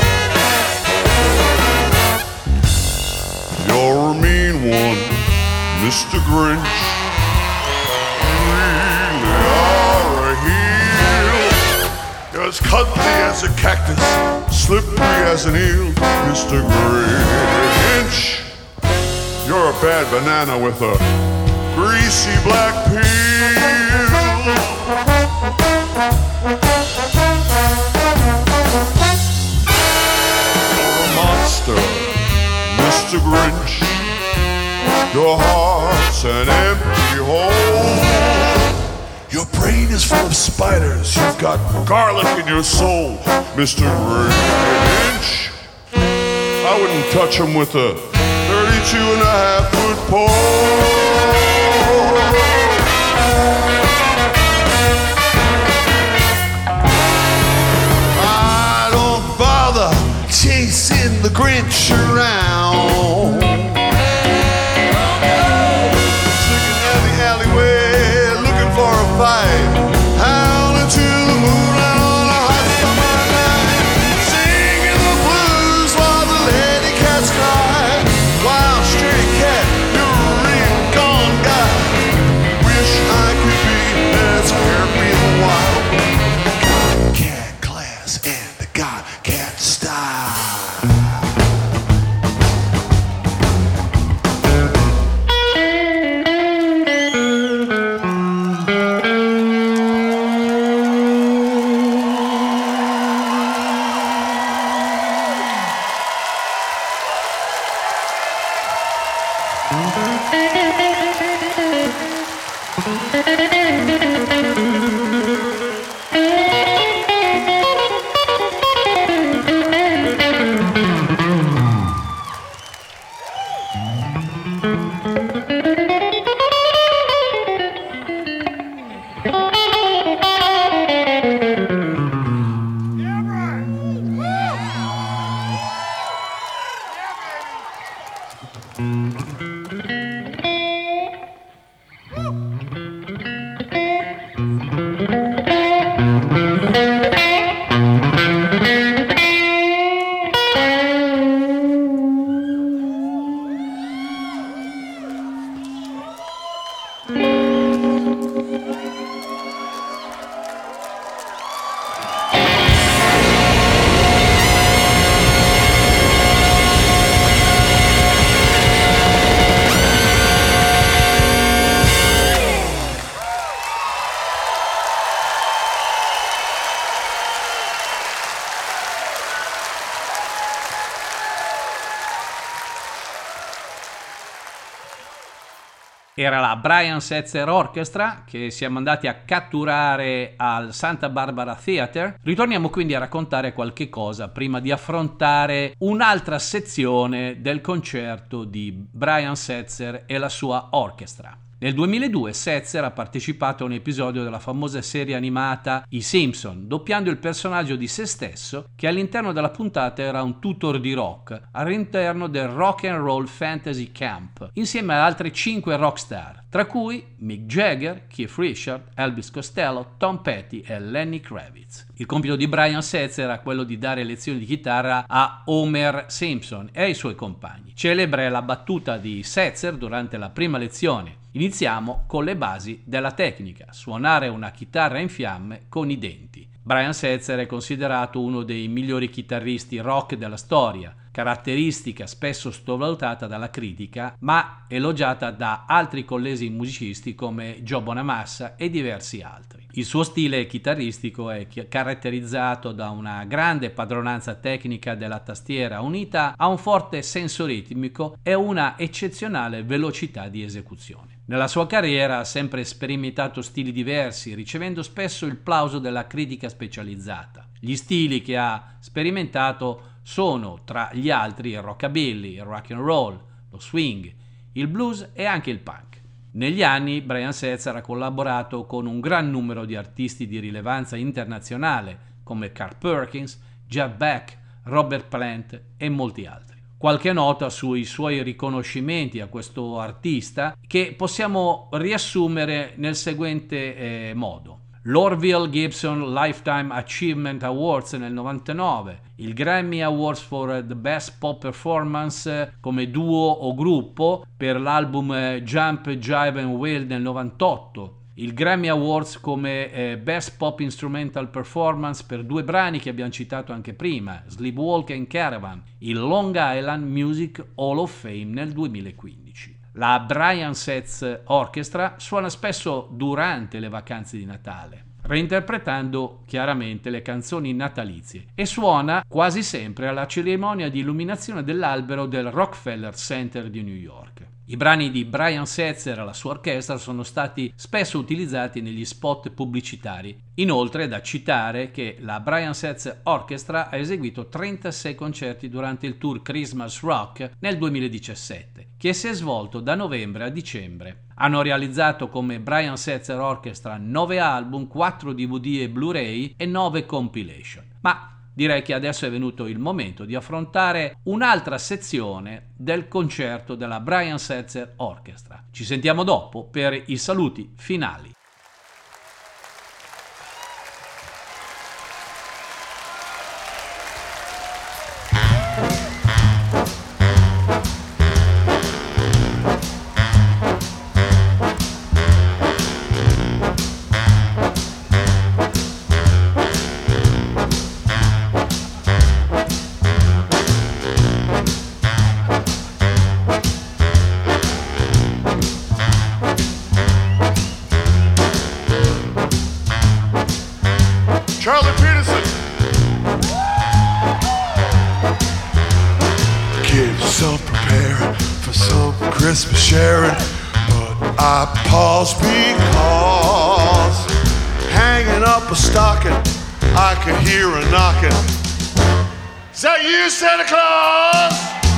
You're a mean one, Mr. Grinch, really are a heel. You're as cuddly as a cactus, slippery as an eel, Mr. Grinch. You're a bad banana with a greasy black peel. You're a monster, Mr. Grinch. Your heart's an empty hole. Your brain is full of spiders. You've got garlic in your soul, Mr. Grinch. I wouldn't touch him with a 32.5-foot pole. I don't bother chasing the Grinch around. Sneaking down the alleyway, looking for a fight. Howling to the moonlight on a hot summer night. Singing the blues while the lady cats cry. Wild stray cat, you're a real gone guy. Wish I could be as happy and wild. Got cat class and the got cat style. Era la Brian Setzer Orchestra che siamo andati a catturare al Santa Barbara Theatre. Ritorniamo quindi a raccontare qualche cosa prima di affrontare un'altra sezione del concerto di Brian Setzer e la sua orchestra. Nel 2002 Setzer ha partecipato a un episodio della famosa serie animata I Simpson, doppiando il personaggio di se stesso che all'interno della puntata era un tutor di rock all'interno del Rock and Roll Fantasy Camp, insieme ad altre 5 rockstar, tra cui Mick Jagger, Keith Richards, Elvis Costello, Tom Petty e Lenny Kravitz. Il compito di Brian Setzer era quello di dare lezioni di chitarra a Homer Simpson e ai suoi compagni. Celebre è la battuta di Setzer durante la prima lezione. Iniziamo con le basi della tecnica, suonare una chitarra in fiamme con i denti. Brian Setzer è considerato uno dei migliori chitarristi rock della storia, caratteristica spesso sottovalutata dalla critica, ma elogiata da altri colleghi musicisti come Joe Bonamassa e diversi altri. Il suo stile chitarristico è caratterizzato da una grande padronanza tecnica della tastiera unita a un forte senso ritmico e una eccezionale velocità di esecuzione. Nella sua carriera ha sempre sperimentato stili diversi, ricevendo spesso il plauso della critica specializzata. Gli stili che ha sperimentato sono, tra gli altri, il rockabilly, il rock and roll, lo swing, il blues e anche il punk. Negli anni Brian Setzer ha collaborato con un gran numero di artisti di rilevanza internazionale come Carl Perkins, Jeff Beck, Robert Plant e molti altri. Qualche nota sui suoi riconoscimenti a questo artista che possiamo riassumere nel seguente modo. l'Orville Gibson Lifetime Achievement Awards nel 99, il Grammy Awards for the Best Pop Performance come duo o gruppo per l'album Jump, Jive and Wail nel 98, il Grammy Awards come Best Pop Instrumental Performance per due brani che abbiamo citato anche prima, Sleepwalk and Caravan, il Long Island Music Hall of Fame nel 2015. La Brian Setz Orchestra suona spesso durante le vacanze di Natale, reinterpretando chiaramente le canzoni natalizie, e suona quasi sempre alla cerimonia di illuminazione dell'albero del Rockefeller Center di New York. I brani di Brian Setzer e la sua orchestra sono stati spesso utilizzati negli spot pubblicitari. Inoltre è da citare che la Brian Setzer Orchestra ha eseguito 36 concerti durante il tour Christmas Rock nel 2017, che si è svolto da novembre a dicembre. Hanno realizzato come Brian Setzer Orchestra 9 album, 4 DVD e Blu-ray e 9 compilation. Ma direi che adesso è venuto il momento di affrontare un'altra sezione del concerto della Brian Setzer Orchestra. Ci sentiamo dopo per i saluti finali. Charlie Peterson. Kids are preparing for some Christmas sharing, but I pause because hanging up a stocking, I can hear a knocking. Is that you, Santa Claus?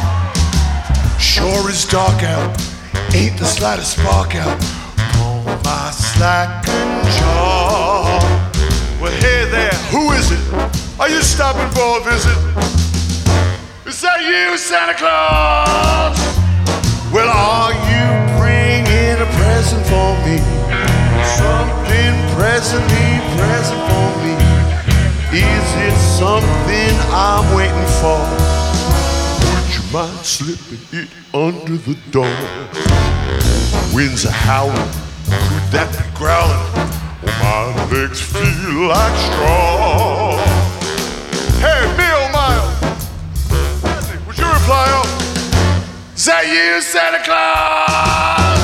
Sure is dark out, ain't the slightest spark out on my slacking jaw. Well, hey there, who is it? Are you stopping for a visit? Is that you, Santa Claus? Well, are you bringing a present for me? Something present for me. Is it something I'm waiting for? Would you mind slipping it under the door? Winds are howling, could that be growling? My legs feel like straw. Hey, Bill Miles, would you reply up? Is that you, Santa Claus?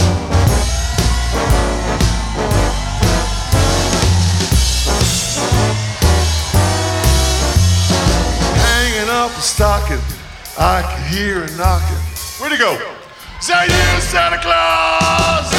Hanging up a stocking, I can hear a knocking. Where'd he go? Is that you, Santa Claus?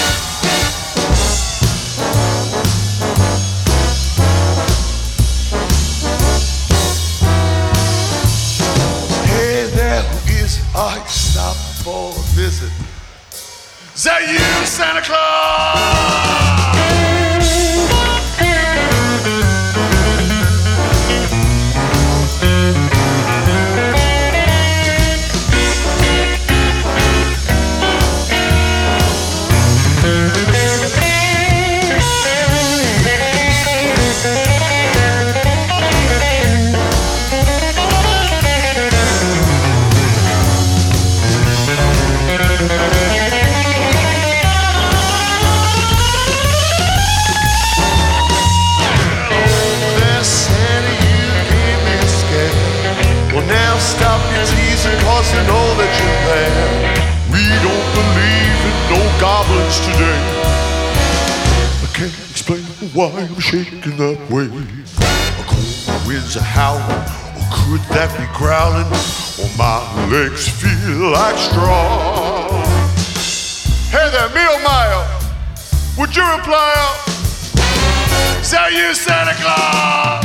I stop for a visit. Is that you, Santa Claus? Stop your teasing, cause you know that you're there. We don't believe in no goblins today. I can't explain why I'm shaking that way. A cold winds are howling, or could that be growling? Or my legs feel like straw. Hey there, Mealmeyer, would you reply up? Is that you, Santa Claus?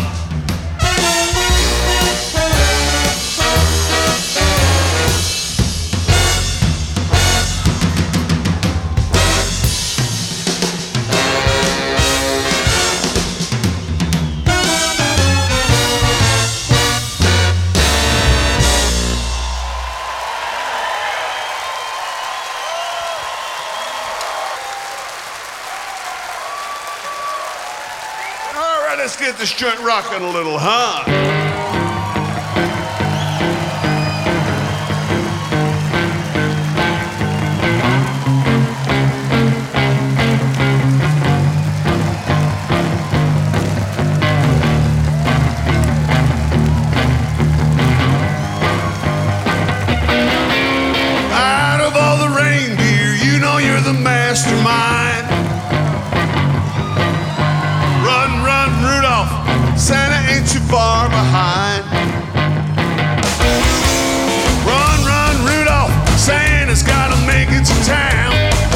let's get this joint rocking a little, huh? Out of all the reindeer, you know you're the mastermind. Run, run, Rudolph, Santa ain't too far behind. Run, run, Rudolph, Santa's gotta make it to town.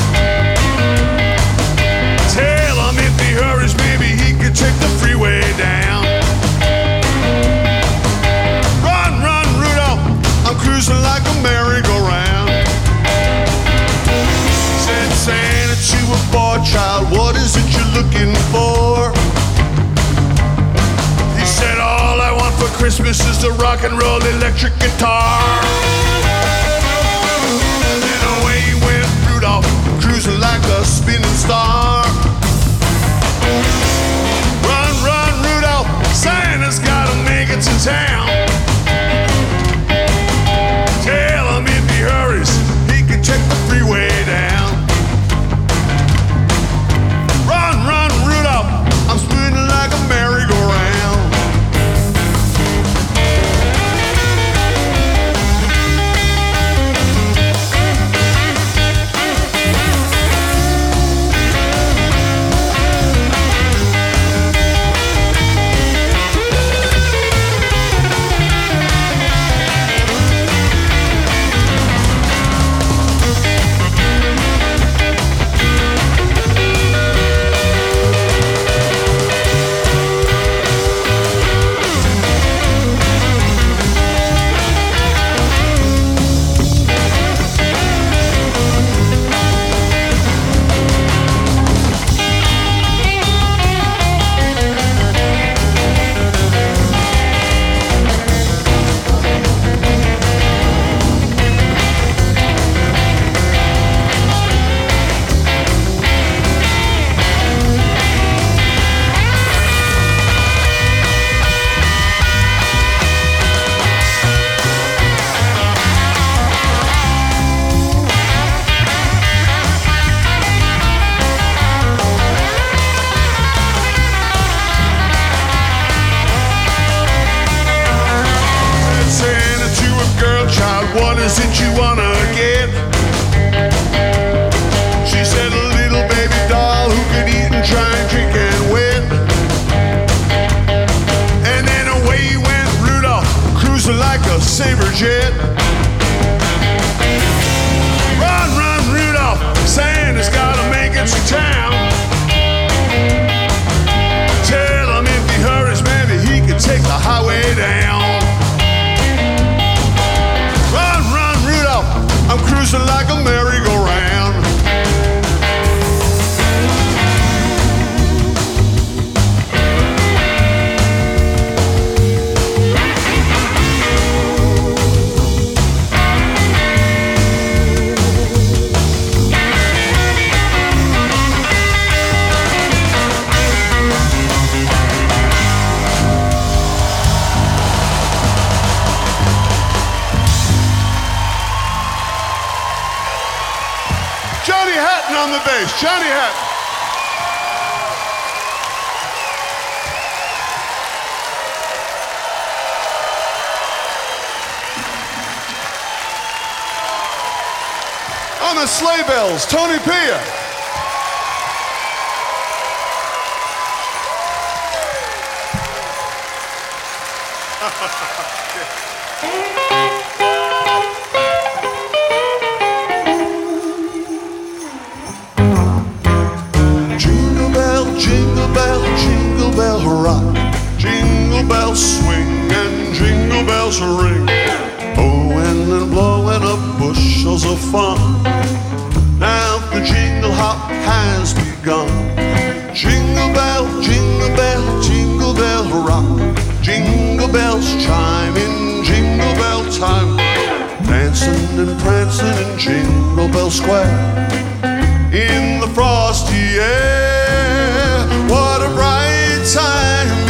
Tell him if he hurries, maybe he could take the freeway down. Run, run, Rudolph, I'm cruising like a merry-go-round. Said Santa to a boy child, what is it you're looking for? He said, all I want for Christmas is a rock and roll electric guitar. And then away went Rudolph, cruising like a spinning star. Run, run, Rudolph, Santa's gotta make it to town. Tell him if he hurries, he can check the freeway down. Run, run, Rudolph, I'm spinning like a merry-go-round. What is it you wanna get? She said a little baby doll who could eat and try and drink and win. And then away went Rudolph, cruising like a saber jet. Run, run, Rudolph, Santa's gotta make it to town. Tell him if he hurries, maybe he can take the highway down. I'm cruising like a merry-go-round. Johnny Hatton on the bass. Johnny Hatton. On the sleigh bells, Tony Pia. Jingle bell, jingle bell, jingle bell rock. Jingle bells swing and jingle bells ring. Blowing and blowing up bushels of fun. Now the jingle hop has begun. Jingle bell, jingle bell, jingle bell rock. Jingle bells chime in jingle bell time. Dancing and prancing in Jingle Bell Square. In the frosty air, what a bright time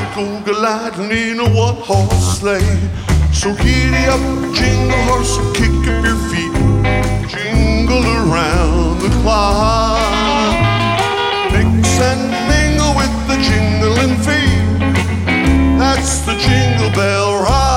go gliding in a one-horse sleigh. So giddy up, jingle horse, kick up your feet, jingle around the clock. Mix and mingle with the jingling feet. That's the Jingle Bell Rock.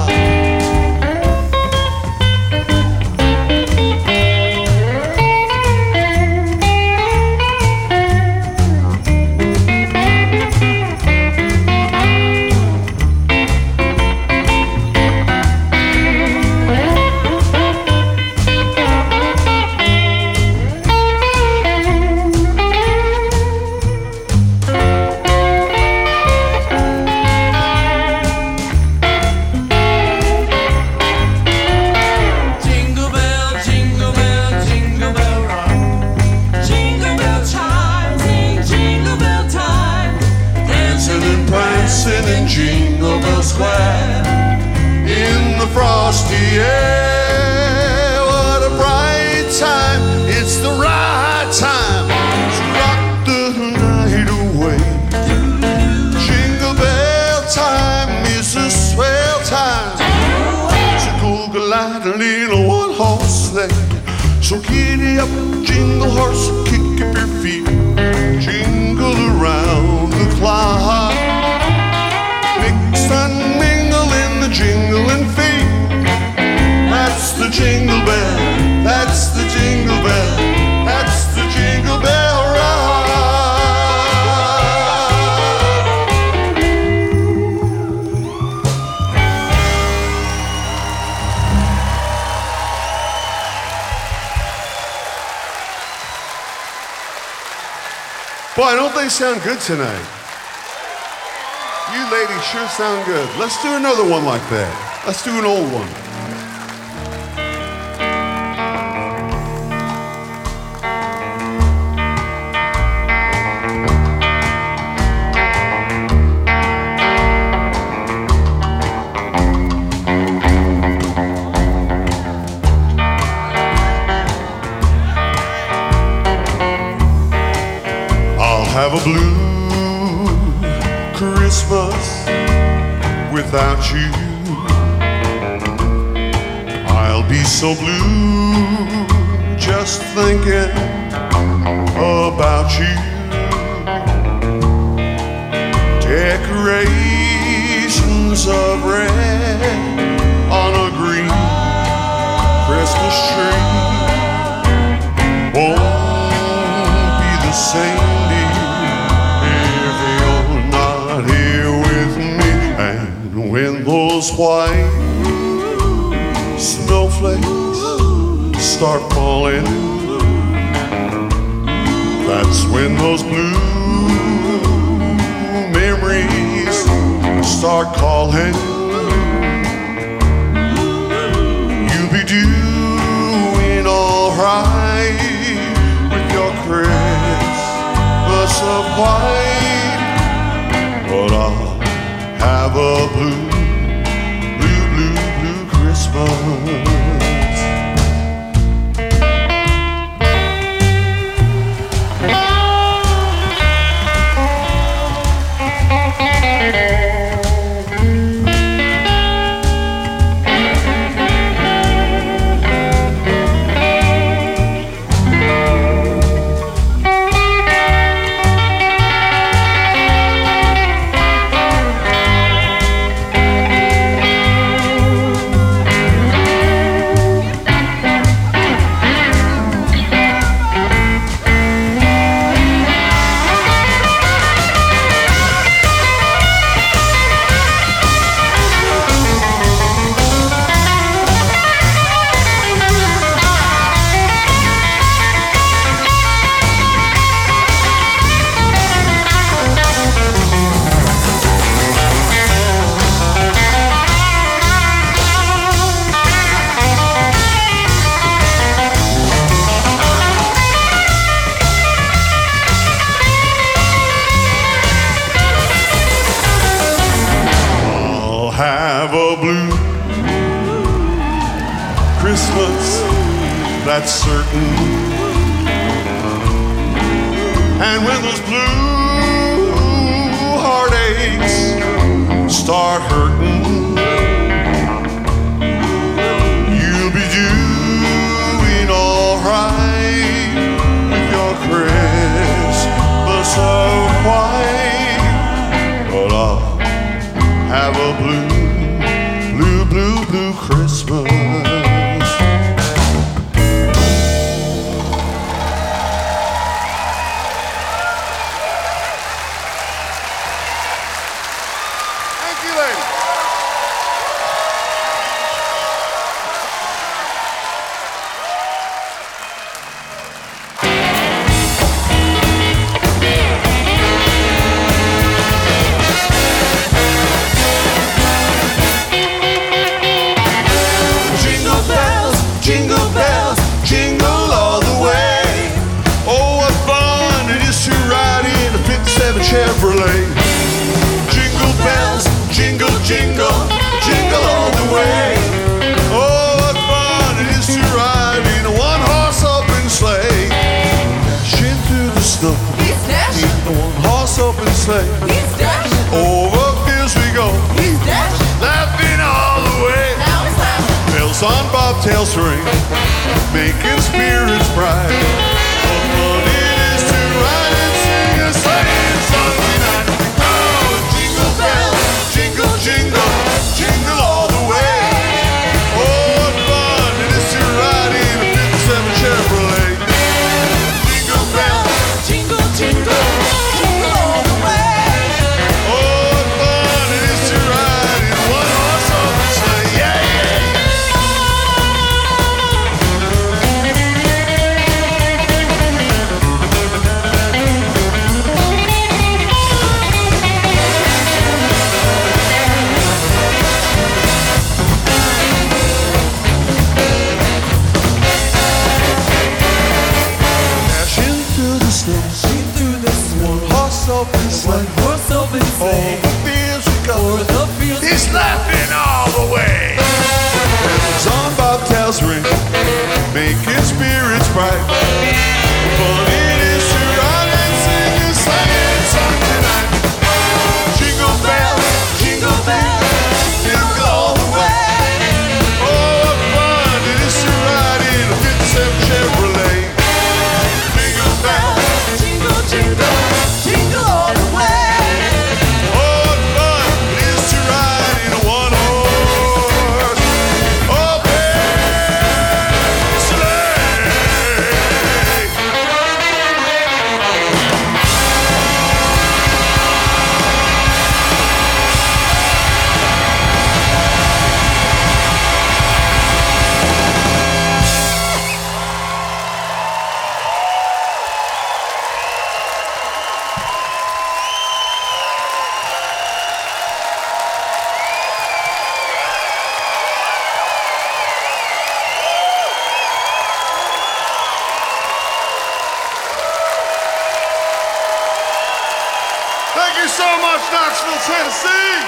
So giddy up, jingle horse, kick up your feet, jingle around the clock. Mix and mingle in the jingling feet. That's the Jingle Bell, that's the Jingle Bell, that's the Jingle Bell Rock. Boy, don't they sound good tonight? You ladies sure sound good. Let's do another one like that. Let's do an old one. Have a blue Christmas without you. I'll be so blue just thinking about you. Decorations of red on a green Christmas tree won't be the same when those white snowflakes start falling. That's when those blue memories start calling. You'll be doing alright with your Christmas of white, but I'll have a blue Christmas. Have a blue Christmas, that's certain. And when those blue heartaches have a blue, blue, blue, blue Christmas. Thank you, ladies. Jingle bells, jingle all the way. Oh, what fun it is to ride in a 57 Chevrolet. Jingle bells, jingle, jingle, jingle all the way. Oh, what fun it is to ride in a one-horse open sleigh. Dashing through the snow, He's dashing, in a one-horse open sleigh. he's dashing, Over fields we go, he's dashing. laughing all the way. Now he's laughing. Bells on bobtails ring, making spirits bright. What fun it is to ride and sing a sleighing song tonight. Oh, jingle bells, jingle, jingle, jingle all the way. Oh, what fun it is to ride in a 57 Chevrolet. Jingle bells, Jingle, jingle, jingle all the way. oh, what fun it is to ride in a one-horse open sleigh. Yeah, yeah. Dashing through the snow, See through the snow, horse open sleigh. horse open sleigh. Over fields we go. O'er the fields He's laughing all the way. Bells on bobtails ring, making spirits bright. Fun it is to ride and sing a sleighing song tonight. Jingle bells, jingle bells, jingle all the way. Oh, what fun it is to ride in a 57 Chevrolet. Jingle bells, jingle, jingle, jingle all the way. oh, what fun it is to ride in a one-horse open sleigh. Thank you so much, Knoxville, Tennessee.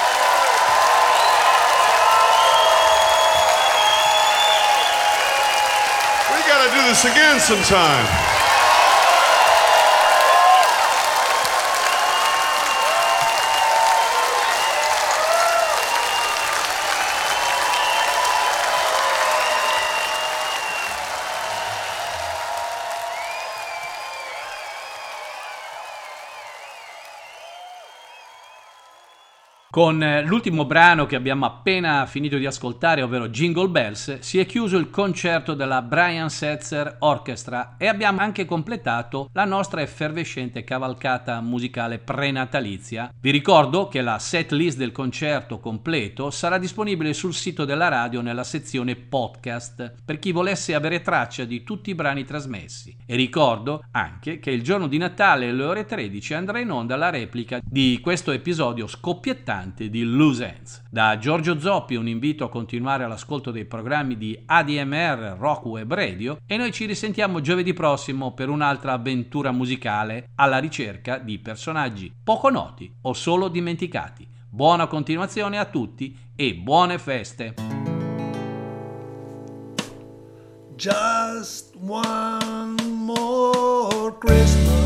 We gotta do this again sometime. Con l'ultimo brano che abbiamo appena finito di ascoltare, ovvero Jingle Bells, si è chiuso il concerto della Brian Setzer Orchestra e abbiamo anche completato la nostra effervescente cavalcata musicale prenatalizia. Vi ricordo che la set list del concerto completo sarà disponibile sul sito della radio nella sezione podcast per chi volesse avere traccia di tutti i brani trasmessi. E ricordo anche che il giorno di Natale alle ore 13 andrà in onda la replica di questo episodio scoppiettante di Loose Ends. Da Giorgio Zoppi un invito a continuare all'ascolto dei programmi di ADMR Rock Web Radio e noi ci risentiamo giovedì prossimo per un'altra avventura musicale alla ricerca di personaggi poco noti o solo dimenticati. Buona continuazione a tutti e buone feste! Just one more Christmas